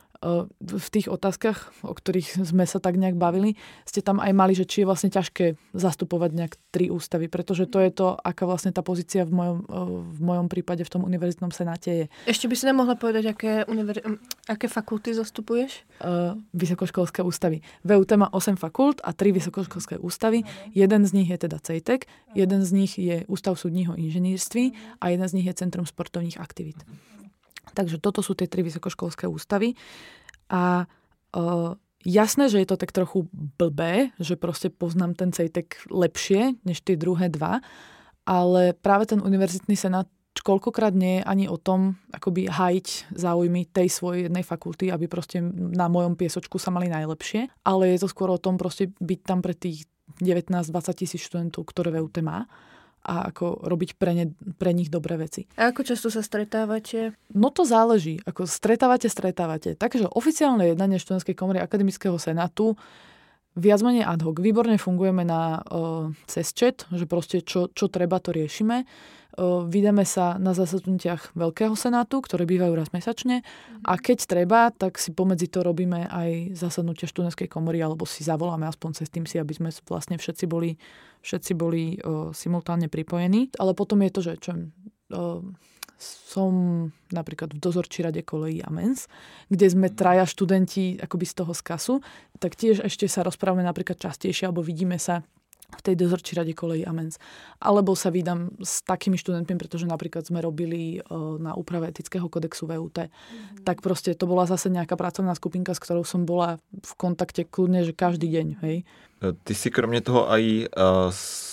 v tých otázkach, o ktorých sme sa tak nejak bavili, ste tam aj mali, že či je vlastne ťažké zastupovať nejak tri ústavy, pretože to je to, aká vlastne tá pozícia v mojom, v mojom prípade v tom univerzitnom senáte je. Ešte by si nám mohla povedať, aké, univer... aké fakulty zastupuješ? Uh, vysokoškolské ústavy. vé ú té má osem fakult a tri vysokoškolské ústavy. Jeden z nich je teda CEITEC, jeden z nich je Ústav súdního inženýrství a jeden z nich je Centrum sportovních aktivít. Takže toto sú tie tri vysokoškolské ústavy. A uh, jasné, že je to tak trochu blbé, že proste poznám ten CEITEC lepšie než tie druhé dva, ale práve ten univerzitný senát koľkokrát nie je ani o tom, akoby hájiť záujmy tej svojej jednej fakulty, aby proste na mojom piesočku sa mali najlepšie, ale je to skôr o tom proste byť tam pre tých devätnásť dvadsať tisíc študentov, ktoré vé ú té má, a ako robiť pre, ne, pre nich dobré veci. A ako často sa stretávate? No to záleží. Ako stretávate, stretávate. Takže oficiálne jednanie študentskej komory akademického senátu viac menej ad hoc. Výborne fungujeme na uh, cez chat, že proste čo, čo treba, to riešime. Uh, Vydáme sa na zasadnutiach Veľkého senátu, ktoré bývajú raz mesačne. A keď treba, tak si pomedzi to robíme aj zasadnutia študentskej komory, alebo si zavoláme aspoň cez Teamsy, aby sme vlastne všetci boli, všetci boli uh, simultánne pripojení. Ale potom je to, že čo, uh, som napríklad v dozorčí rade kolejí a mens, kde sme traja študenti akoby z toho skasu, tak tiež ešte sa rozprávame napríklad častejšie, alebo vidíme sa v tej dozorčí rade kolejí a mens. Alebo sa vídam s takými študentmi, pretože napríklad sme robili uh, na úprave etického kodexu vé ú té. Mm-hmm. Tak proste to bola zase nejaká pracovná skupinka, s ktorou som bola v kontakte kľudne, že každý deň. Hej. Ty si kromě toho aj uh,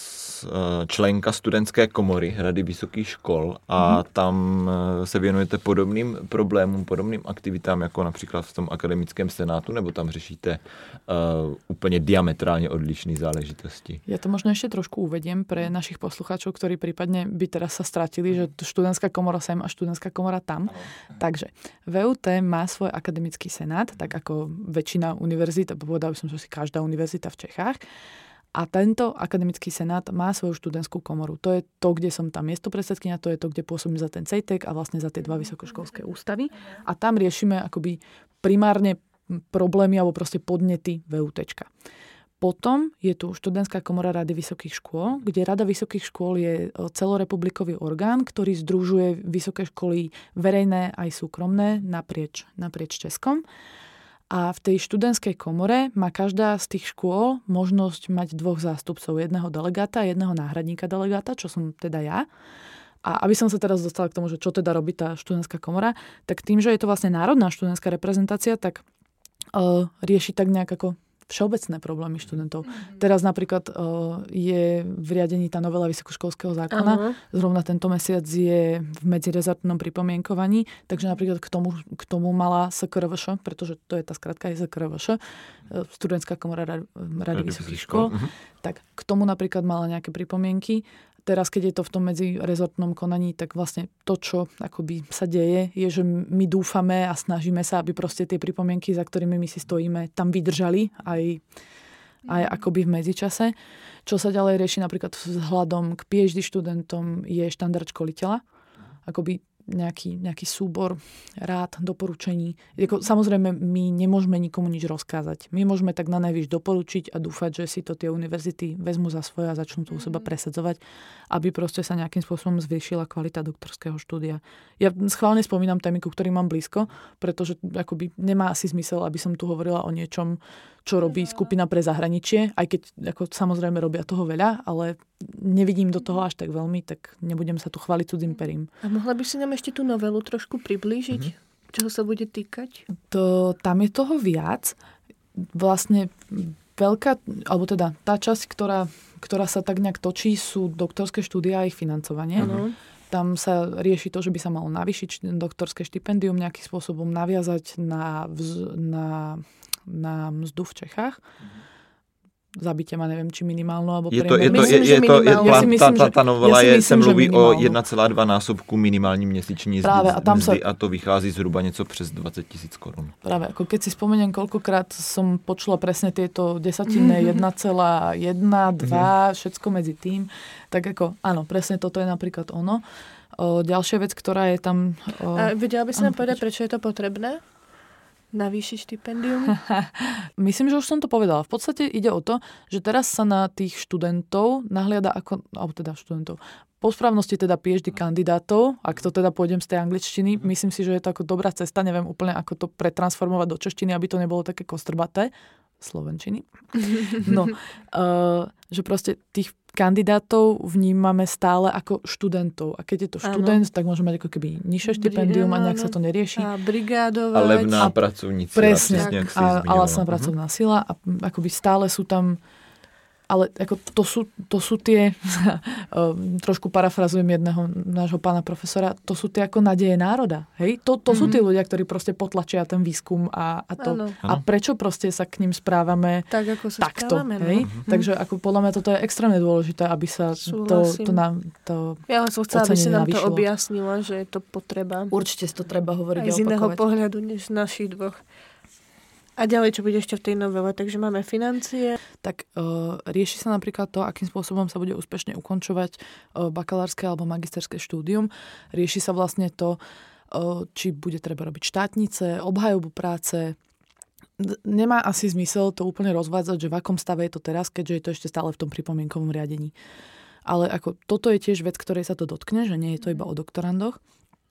členka studentské komory Rady vysokých škol a mm. tam se věnujete podobným problémům, podobným aktivitám, jako například v tom akademickém senátu, nebo tam řešíte uh, úplně diametrálně odlišné záležitosti? Ja to možno ešte trošku uvediem pre našich poslucháčov, ktorí prípadne by teraz sa stratili, že študentská komora sem a študentská komora tam. Ano. Takže vé ú té má svoj akademický senát, tak ako väčšina univerzít, povedal by som, že si každá univerzita v Čechách. A tento akademický senát má svoju študentskú komoru. To je to, kde som tam miestopredsedkyňa, to je to, kde pôsobím za ten cejtek a vlastne za tie dva vysokoškolské ústavy. A tam riešime akoby primárne problémy alebo proste podnety vé ú téčka. Potom je tu študentská komora Rady vysokých škôl, kde Rada vysokých škôl je celorepublikový orgán, ktorý združuje vysoké školy verejné aj súkromné naprieč, naprieč Českom. A v tej študentskej komore má každá z tých škôl možnosť mať dvoch zástupcov, jedného delegáta a jedného náhradníka delegáta, čo som teda ja. A aby som sa teraz dostala k tomu, že čo teda robí tá študentská komora, tak tým, že je to vlastne národná študentská reprezentácia, tak uh, rieši tak nejak ako všeobecné problémy študentov. Mm-hmm. Teraz napríklad uh, je v riadení tá novela vysokoškolského zákona. Uh-huh. Zrovna tento mesiac je v medzirezortnom pripomienkovaní, takže napríklad k tomu, k tomu mala es ká er vé š, pretože to je tá skratka es ká er vé š, Studentská komora Rady, Rady vysokých škôl, uh-huh. tak k tomu napríklad mala nejaké pripomienky. Teraz, keď je to v tom medzirezortnom konaní, tak vlastne to, čo akoby sa deje, je, že my dúfame a snažíme sa, aby proste tie pripomienky, za ktorými my si stojíme, tam vydržali aj, aj akoby v medzičase. Čo sa ďalej rieši napríklad vzhľadom k PhD študentom je štandard školiteľa. Akoby nejaký, nejaký súbor rád, doporučení. Jako, samozrejme, my nemôžeme nikomu nič rozkázať. My môžeme tak na najvyš doporučiť a dúfať, že si to tie univerzity vezmú za svoje a začnú to u seba presadzovať, aby proste sa nejakým spôsobom zvýšila kvalita doktorského štúdia. Ja schválne spomínam témy, ku ktorým mám blízko, pretože akoby nemá asi zmysel, aby som tu hovorila o niečom, čo robí skupina pre zahraničie, aj keď ako, samozrejme robia toho veľa, ale nevidím do toho až tak veľmi, tak nebudem sa tu chváliť cudzým perím. A mohla by si nám ešte tú novelu trošku priblížiť? Mm-hmm. Čoho sa bude týkať? To, tam je toho viac. Vlastne veľká, alebo teda tá časť, ktorá, ktorá sa tak nejak točí, sú doktorské štúdia a ich financovanie. Mm-hmm. Tam sa rieši to, že by sa malo navýšiť doktorské štipendium, nejakým spôsobom naviazať na, vz, na, na mzdu v Čechách. Zabite ma, neviem, či minimálnu, alebo je to, je to, je, je to, je, ja si myslím, ta, ta novela ja je, se mluví o jedna celá dva násobku minimální měsíční Práve, a, tam mzdy sa... a to vychází zhruba něco přes dvadsať tisíc korun. Práve, ako keď si spomeniem, koľkokrát som počula presne tieto desatinné jedna celá jedna, dva, všetko medzi tým, tak ako, áno, presne toto je napríklad ono. O, ďalšia vec, ktorá je tam... O... A vedela by si nám povedať, prečo je to potrebné? Navýšiť štipendium? Myslím, že už som to povedala. V podstate ide o to, že teraz sa na tých študentov nahliada ako, alebo teda študentov, po správnosti teda PhD kandidátov, ak to teda pôjdem z tej angličtiny, myslím si, že je to ako dobrá cesta, neviem úplne, ako to pretransformovať do češtiny, aby to nebolo také kostrbaté. Slovenčiny. No, uh, že proste tých kandidátov vnímame stále ako študentov. A keď je to študent, ano. tak môže mať ako keby nižšie štipendium a nejak sa to nerieši. A brigádovať. A levná a pracovníci. Presne. A, a lacná pracovná sila. A akoby stále sú tam... Ale ako to, sú, to sú tie, trošku parafrazujem jedného nášho pána profesora, to sú tie ako nádeje národa. Hej? To, to mm-hmm. sú tí ľudia, ktorí proste potlačia ten výskum a, a to. Ano. A prečo proste sa k ním správame tak, ako sa takto. Správame, hej? No. Takže ako podľa mňa toto je extrémne dôležité, aby sa to, to, nám, to ja som chcela, aby si nám navýšilo. To objasnila, že je to potreba. Určite si to treba hovoriť a opakovať. Aj z iného pohľadu, než z našich dvoch. A ďalej, čo bude ešte v tej novele? Takže máme financie. Tak uh, rieši sa napríklad to, akým spôsobom sa bude úspešne ukončovať uh, bakalárske alebo magisterské štúdium. Rieši sa vlastne to, uh, či bude treba robiť štátnice, obhajobu práce. D- nemá asi zmysel to úplne rozvádzať, že v akom stave je to teraz, keďže je to ešte stále v tom pripomienkovom riadení. Ale ako toto je tiež vec, ktorej sa to dotkne, že nie je to iba o doktorandoch.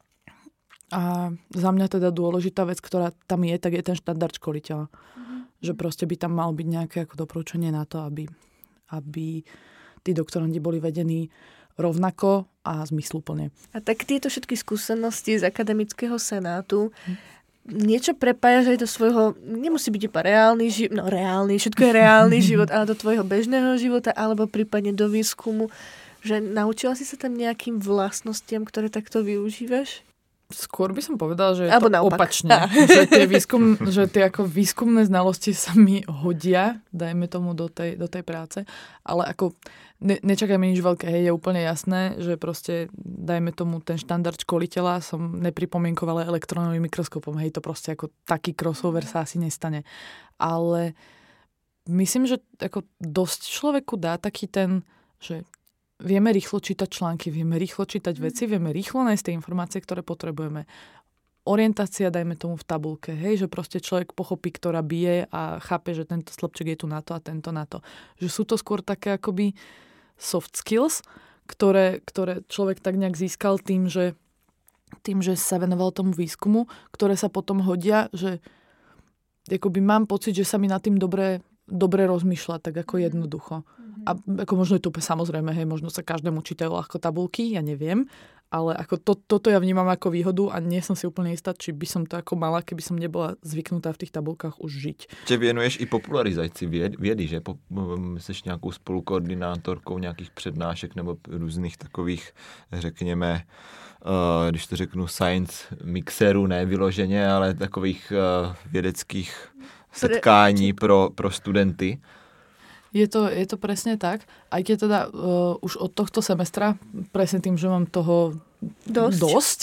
A za mňa teda dôležitá vec, ktorá tam je, tak je ten štandard školiteľa. Mm-hmm. Že proste by tam mal byť nejaké ako doporučenie na to, aby, aby tí doktorandi boli vedení rovnako a zmysluplne. A tak tieto všetky skúsenosti z akademického senátu niečo prepájaš aj do svojho, nemusí byť iba reálny život, no reálny, všetko je reálny život, ale do tvojho bežného života, alebo prípadne do výskumu, že naučila si sa tam nejakým vlastnostiam, ktoré takto využívaš? Skôr by som povedala, že je Alebo to naopak. opačne. že, tie výskum, že tie ako výskumné znalosti sa mi hodia, dajme tomu do tej, do tej práce, ale ako ne, nečakajme nič veľké, hej, je úplne jasné, že proste dajme tomu ten štandard školiteľa som nepripomienkovala elektronovým mikroskopom, hej, to proste ako taký crossover sa asi nestane. Ale myslím, že ako dosť človeku dá taký ten, že vieme rýchlo čítať články, vieme rýchlo čítať veci, vieme rýchlo nájsť tie informácie, ktoré potrebujeme. Orientácia, dajme tomu v tabulke, hej, že proste človek pochopí, ktorá bije a chápe, že tento slupček je tu na to a tento na to. Že sú to skôr také akoby soft skills, ktoré, ktoré človek tak nejak získal tým, že, tým, že sa venoval tomu výskumu, ktoré sa potom hodia, že akoby mám pocit, že sa mi nad tým dobre dobre rozmýšľať, tak ako jednoducho. A ako možno je to samozrejme, hej, možno sa každému čítajú ľahko tabulky, ja neviem, ale ako to, toto ja vnímam ako výhodu a nie som si úplne istá, či by som to ako mala, keby som nebola zvyknutá v tých tabulkách už žiť. Če věnuješ i popularizaci vědy, že? Po, jsi nějakou spolukoordinátorkou nějakých přednášek nebo různých takových, řekněme, uh, když to řeknu science mixerů, ne vyloženě, ale takových uh, vědeckých setkání pro, pro studenty. Je to, je to presne tak. Aj keď teda uh, už od tohto semestra, presne tým, že mám toho dosť, dosť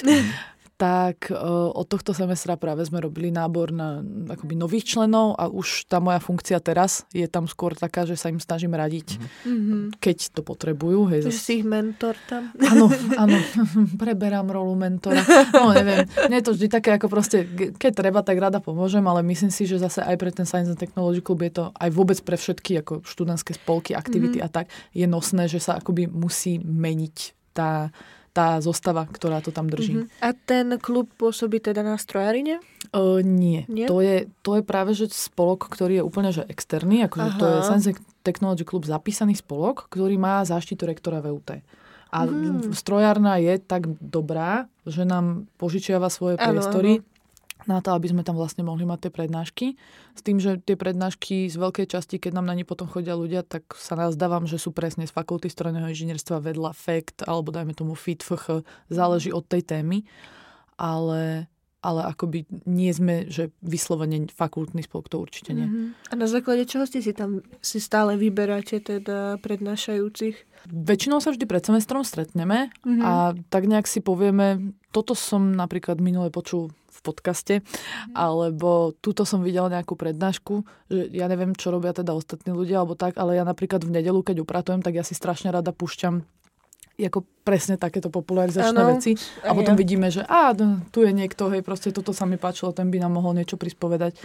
tak uh, od tohto semestra práve sme robili nábor na akoby nových členov a už tá moja funkcia teraz je tam skôr taká, že sa im snažím radiť, mm-hmm. keď to potrebujú. Hej, že zas... si ich mentor tam. Áno, áno. Preberám rolu mentora. No neviem. Nie je to vždy také, ako proste, keď treba, tak rada pomôžem, ale myslím si, že zase aj pre ten Science and Technology Club je to aj vôbec pre všetky ako študentské spolky, aktivity mm-hmm. a tak, je nosné, že sa akoby musí meniť tá tá zostava, ktorá to tam drží. Uh-huh. A ten klub pôsobí teda na strojarine? Uh, nie. nie. To, je, to je práve že spolok, ktorý je úplne že externý. Akože to je Science Technology Club zapísaný spolok, ktorý má záštitu rektora vé ú té. A uh-huh. strojárna je tak dobrá, že nám požičiava svoje priestory ano, ano. na to, aby sme tam vlastne mohli mať tie prednášky. S tým, že tie prednášky z veľkej časti, keď nám na ne potom chodia ľudia, tak sa nazdávam, že sú presne z fakulty strojného inžinierstva vedľa ef é ká té, alebo dajme tomu ef í té, ef há, záleží od tej témy. Ale, ale akoby nie sme, že vyslovene fakultný spolok, to určite nie. Mm-hmm. A na základe čoho ste si tam si stále vyberáte teda prednášajúcich? Väčšinou sa vždy pred semestrom stretneme mm-hmm. a tak nejak si povieme, toto som napríklad minule počul v podcaste, mm-hmm. alebo túto som videla nejakú prednášku, že ja neviem, čo robia teda ostatní ľudia, alebo tak, ale ja napríklad v nedeľu, keď upratujem, tak ja si strašne rada púšťam ako presne takéto popularizačné ano, veci a potom ja. vidíme, že á, tu je niekto, hej, proste toto sa mi páčilo, ten by nám mohol niečo prispovedať.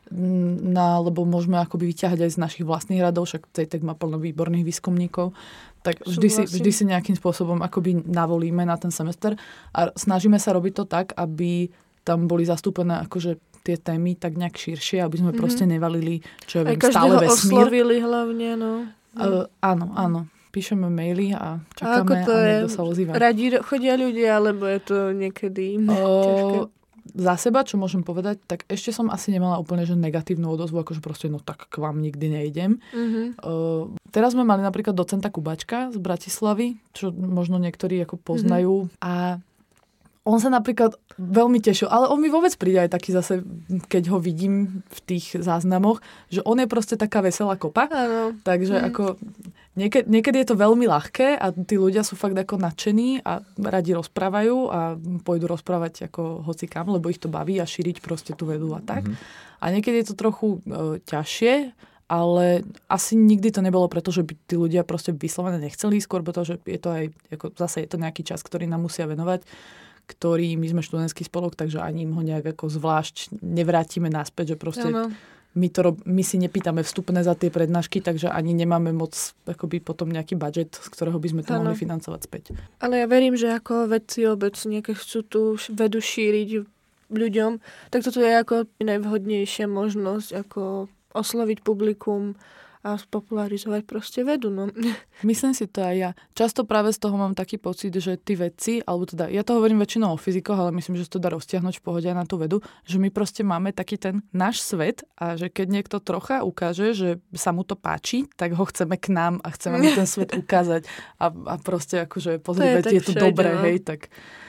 No, lebo môžeme akoby vyťahať aj z našich vlastných radov, však CEITEC má plno výborných výskumníkov, tak vždy si, vždy si nejakým spôsobom akoby navolíme na ten semester a snažíme sa robiť to tak, aby tam boli zastúpené akože tie témy tak nejak širšie, aby sme mm-hmm. proste nevalili, čo ja viem, stále vesmír. Aj každého oslovili hlavne, no. Uh, áno, áno. Píšeme maily a čakáme a, a niekto sa ozýva. Radi chodia ľudia, alebo je to niekedy uh, ťažké? Za seba, čo môžem povedať, tak ešte som asi nemala úplne že negatívnu odozvu, akože proste no tak k vám nikdy nejdem. Uh-huh. Uh, teraz sme mali napríklad docenta Kubačka z Bratislavy, čo možno niektorí ako poznajú uh-huh. a on sa napríklad veľmi tešil, ale on mi vôbec príde aj taký zase, keď ho vidím v tých záznamoch, že on je proste taká veselá kopa. Áno. Takže mm. ako niekedy, niekedy je to veľmi ľahké a tí ľudia sú fakt ako nadšení a radi rozprávajú a pôjdu rozprávať ako hocikam, lebo ich to baví a šíriť proste tú vedu a tak. Mm. A niekedy je to trochu e, ťažšie, ale asi nikdy to nebolo preto, že by tí ľudia proste vyslovene nechceli, skôr preto, že je to aj, ako zase je to nejaký čas, ktorý nám musia venovať, ktorý, my sme študentský spolok, takže ani im ho nejak ako zvlášť nevrátime naspäť, že proste my, to, my si nepýtame vstupné za tie prednášky, takže ani nemáme moc akoby potom nejaký budget, z ktorého by sme to ano. mohli financovať späť. Ale ja verím, že ako vedci obecne, keď chcú tú vedu šíriť ľuďom, tak toto je ako najvhodnejšia možnosť, ako osloviť publikum a spopularizovať proste vedu. No. Myslím si to aj ja. Často práve z toho mám taký pocit, že tí vedci, alebo teda, ja to hovorím väčšinou o fyzikoch, ale myslím, že sa to dá roztiahnuť v pohode aj na tú vedu, že my proste máme taký ten náš svet a že keď niekto trocha ukáže, že sa mu to páči, tak ho chceme k nám a chceme mu ten svet ukázať a, a proste akože pozrieť, je, je to dobré, no. Hej, tak...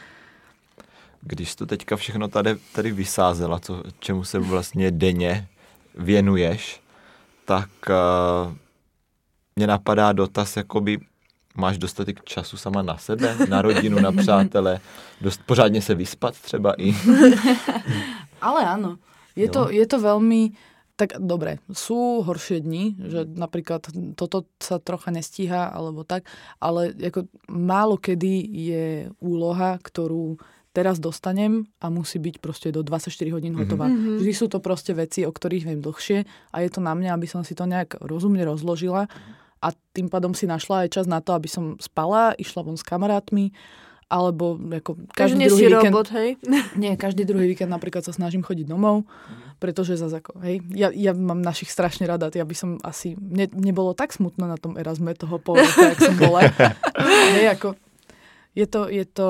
Když jsi to teďka všechno tady, tady vysázela, co, čemu se vlastně denně věnuješ, tak uh, mě napadá dotaz, jakoby máš dostatek času sama na sebe, na rodinu, na přátele, dost pořádně se vyspat třeba i. Ale áno, je, no. to, je to veľmi, tak dobre, sú horšie dni, že napríklad toto sa trocha nestíha, alebo tak, ale ako málo kedy je úloha, ktorú teraz dostanem a musí byť proste do dvadsaťštyri hodín hotová. Mm-hmm. Vždy sú to proste veci, o ktorých viem dlhšie a je to na mňa, aby som si to nejak rozumne rozložila a tým pádom si našla aj čas na to, aby som spala, išla von s kamarátmi, alebo ako každý druhý víkend... robot, hej? Nie, každý druhý víkend napríklad sa snažím chodiť domov, pretože zase ako, hej, ja, ja mám našich strašne rada, ja by som asi, mne, mne bolo tak smutno na tom Erasme toho pol roka, jak som bola. Hej, ako, je to, je to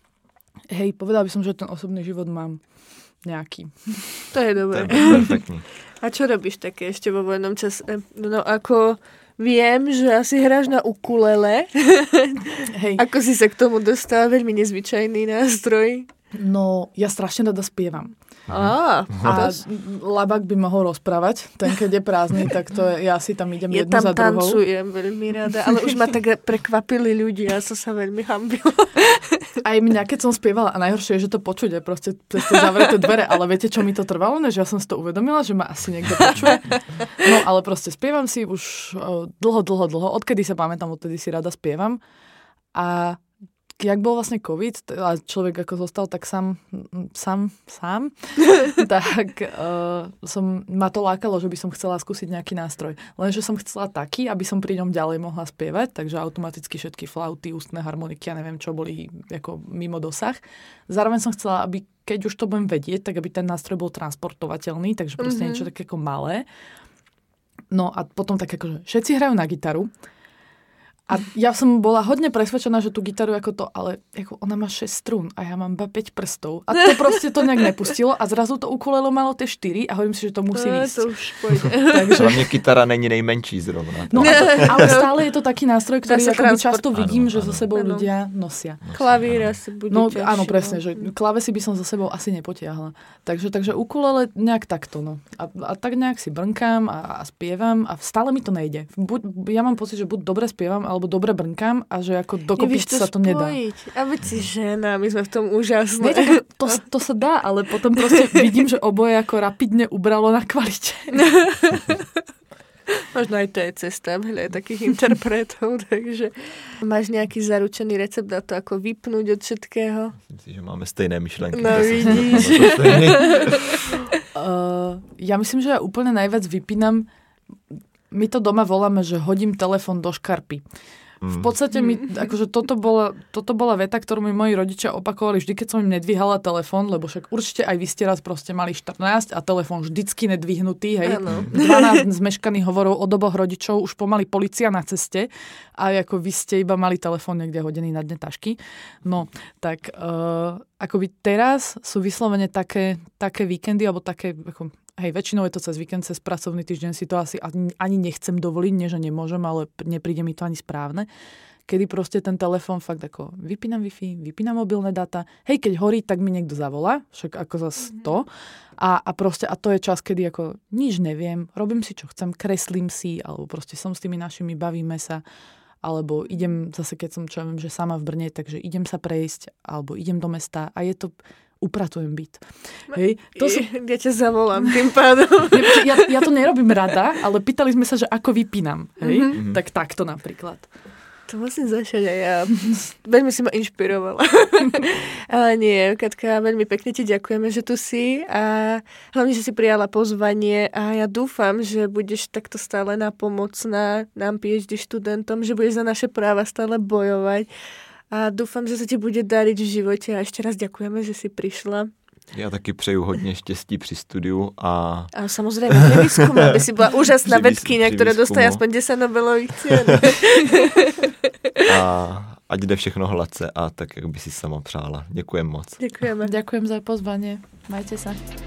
hej, povedala by som, že ten osobný život mám nejaký. To je dobré. To je perfektní. A čo robíš také ešte vo voľnom čase? No ako viem, že asi hráš na ukulele. Hej. Ako si sa k tomu dostala? Veľmi nezvyčajný nástroj. No, ja strašne rada spievam. Á, a Labák by mohol rozprávať, ten keď je prázdny, tak to je, ja si tam idem ja jednu tam za druhou. Ja tam tancujem veľmi rada, ale už ma tak prekvapili ľudia, ja som sa veľmi hambila. Aj mňa, keď som spievala, a najhoršie je, že to počuť, je proste cez tie zavreté dvere, ale viete, čo mi to trvalo, než ja som si to uvedomila, že ma asi niekto počuje. No, ale proste spievam si už dlho, dlho, dlho, odkedy sa pamätám, odtedy si rada spievam. A jak bol vlastne COVID a človek ako zostal tak sám, sám, sám, tak uh, som, ma to lákalo, že by som chcela skúsiť nejaký nástroj. Lenže som chcela taký, aby som pri ňom ďalej mohla spievať, takže automaticky všetky flauty, ústne harmoniky, ja neviem čo, boli ako mimo dosah. Zároveň som chcela, aby keď už to budem vedieť, tak aby ten nástroj bol transportovateľný, takže proste mm-hmm. niečo také ako malé. No a potom tak akože všetci hrajú na gitaru. A ja som bola hodne presvedčená, že tú gitaru ako to, ale ako ona má šesť strún a ja mám iba päť prstov. A to proste to nejak nepustilo a zrazu to ukulele malo tie štyri a hovorím si, že to musí no, ísť. To už pôjde. Takže... Hlavne kytara není nejmenší zrovna. No, to, ale stále je to taký nástroj, ktorý akoby často vidím, áno, že áno. so sebou áno. ľudia nosia. Klavíra si bude No ťažšie. Áno, presne, že klávesy by som so sebou asi nepotiahla. Takže, takže ukulele nejak takto. No. A, a tak nejak si brnkám a, a spievam a stále mi to nejde. Buď, ja mám pocit, že buď dobre spievam, alebo dobre brnkám a že ako dokopy sa to nedá. A veď si žena, my sme v tom úžasné. Nie, to, to sa dá, ale potom proste vidím, že oboje ako rapidne ubralo na kvalite. Možno aj to je cesta hľadať takých interpretov, takže máš nejaký zaručený recept na to, ako vypnúť od všetkého? Myslím si, že máme stejné myšlenky. No vidíš. uh, ja myslím, že ja úplne najviac vypínam, my to doma voláme, že hodím telefón do škarpy. V podstate mi, akože toto bola, toto bola veta, ktorú mi moji rodičia opakovali vždy, keď som im nedvíhala telefón, lebo však určite aj vy ste raz proste mali štrnásť a telefón vždycky nedvihnutý, hej. Ano. dvanásť zmeškaných hovorov od oboch rodičov, už pomaly polícia na ceste a ako vy ste iba mali telefón niekde hodený na dne tašky. No, tak uh, akoby teraz sú vyslovene také, také víkendy, alebo také, ako hej, väčšinou je to cez víkend, cez pracovný týždeň si to asi ani, ani nechcem dovoliť, nie že nemôžem, ale nepríde mi to ani správne. Kedy proste ten telefón fakt ako vypínam Wi-Fi, vypínam mobilné dáta, hej, keď horí, tak mi niekto zavolá, však ako zase to. A, a proste, a to je čas, kedy ako nič neviem, robím si, čo chcem, kreslím si, alebo proste som s tými našimi, bavíme sa, alebo idem zase, keď som, čo ja viem, že sama v Brne, takže idem sa prejsť, alebo idem do mesta a je to... upratujem byt. Hej, to sú... Ja ťa zavolám tým pádom. Ja, ja to nerobím rada, ale pýtali sme sa, že ako vypínam. Hej? Mm-hmm. Tak takto napríklad. To musím začať aj ja. Veľmi si ma inšpirovala. Ale nie, Katka, veľmi pekne ti ďakujeme, že tu si a hlavne, že si prijala pozvanie a ja dúfam, že budeš takto stále napomocná nám PhD študentom, že budeš za naše práva stále bojovať. A dúfam, že sa ti bude dariť v živote. A ešte raz ďakujeme, že si prišla. Já taky přeju hodně štěstí při studiu a... A samozřejmě při výzkumu, aby si byla úžasná vedkyně, která dostane aspoň desať Nobelových cien. A ať jde všechno hladce a tak, jak by si sama přála. Děkujem moc. Děkujeme. Ďakujem za pozvanie. Majte sa.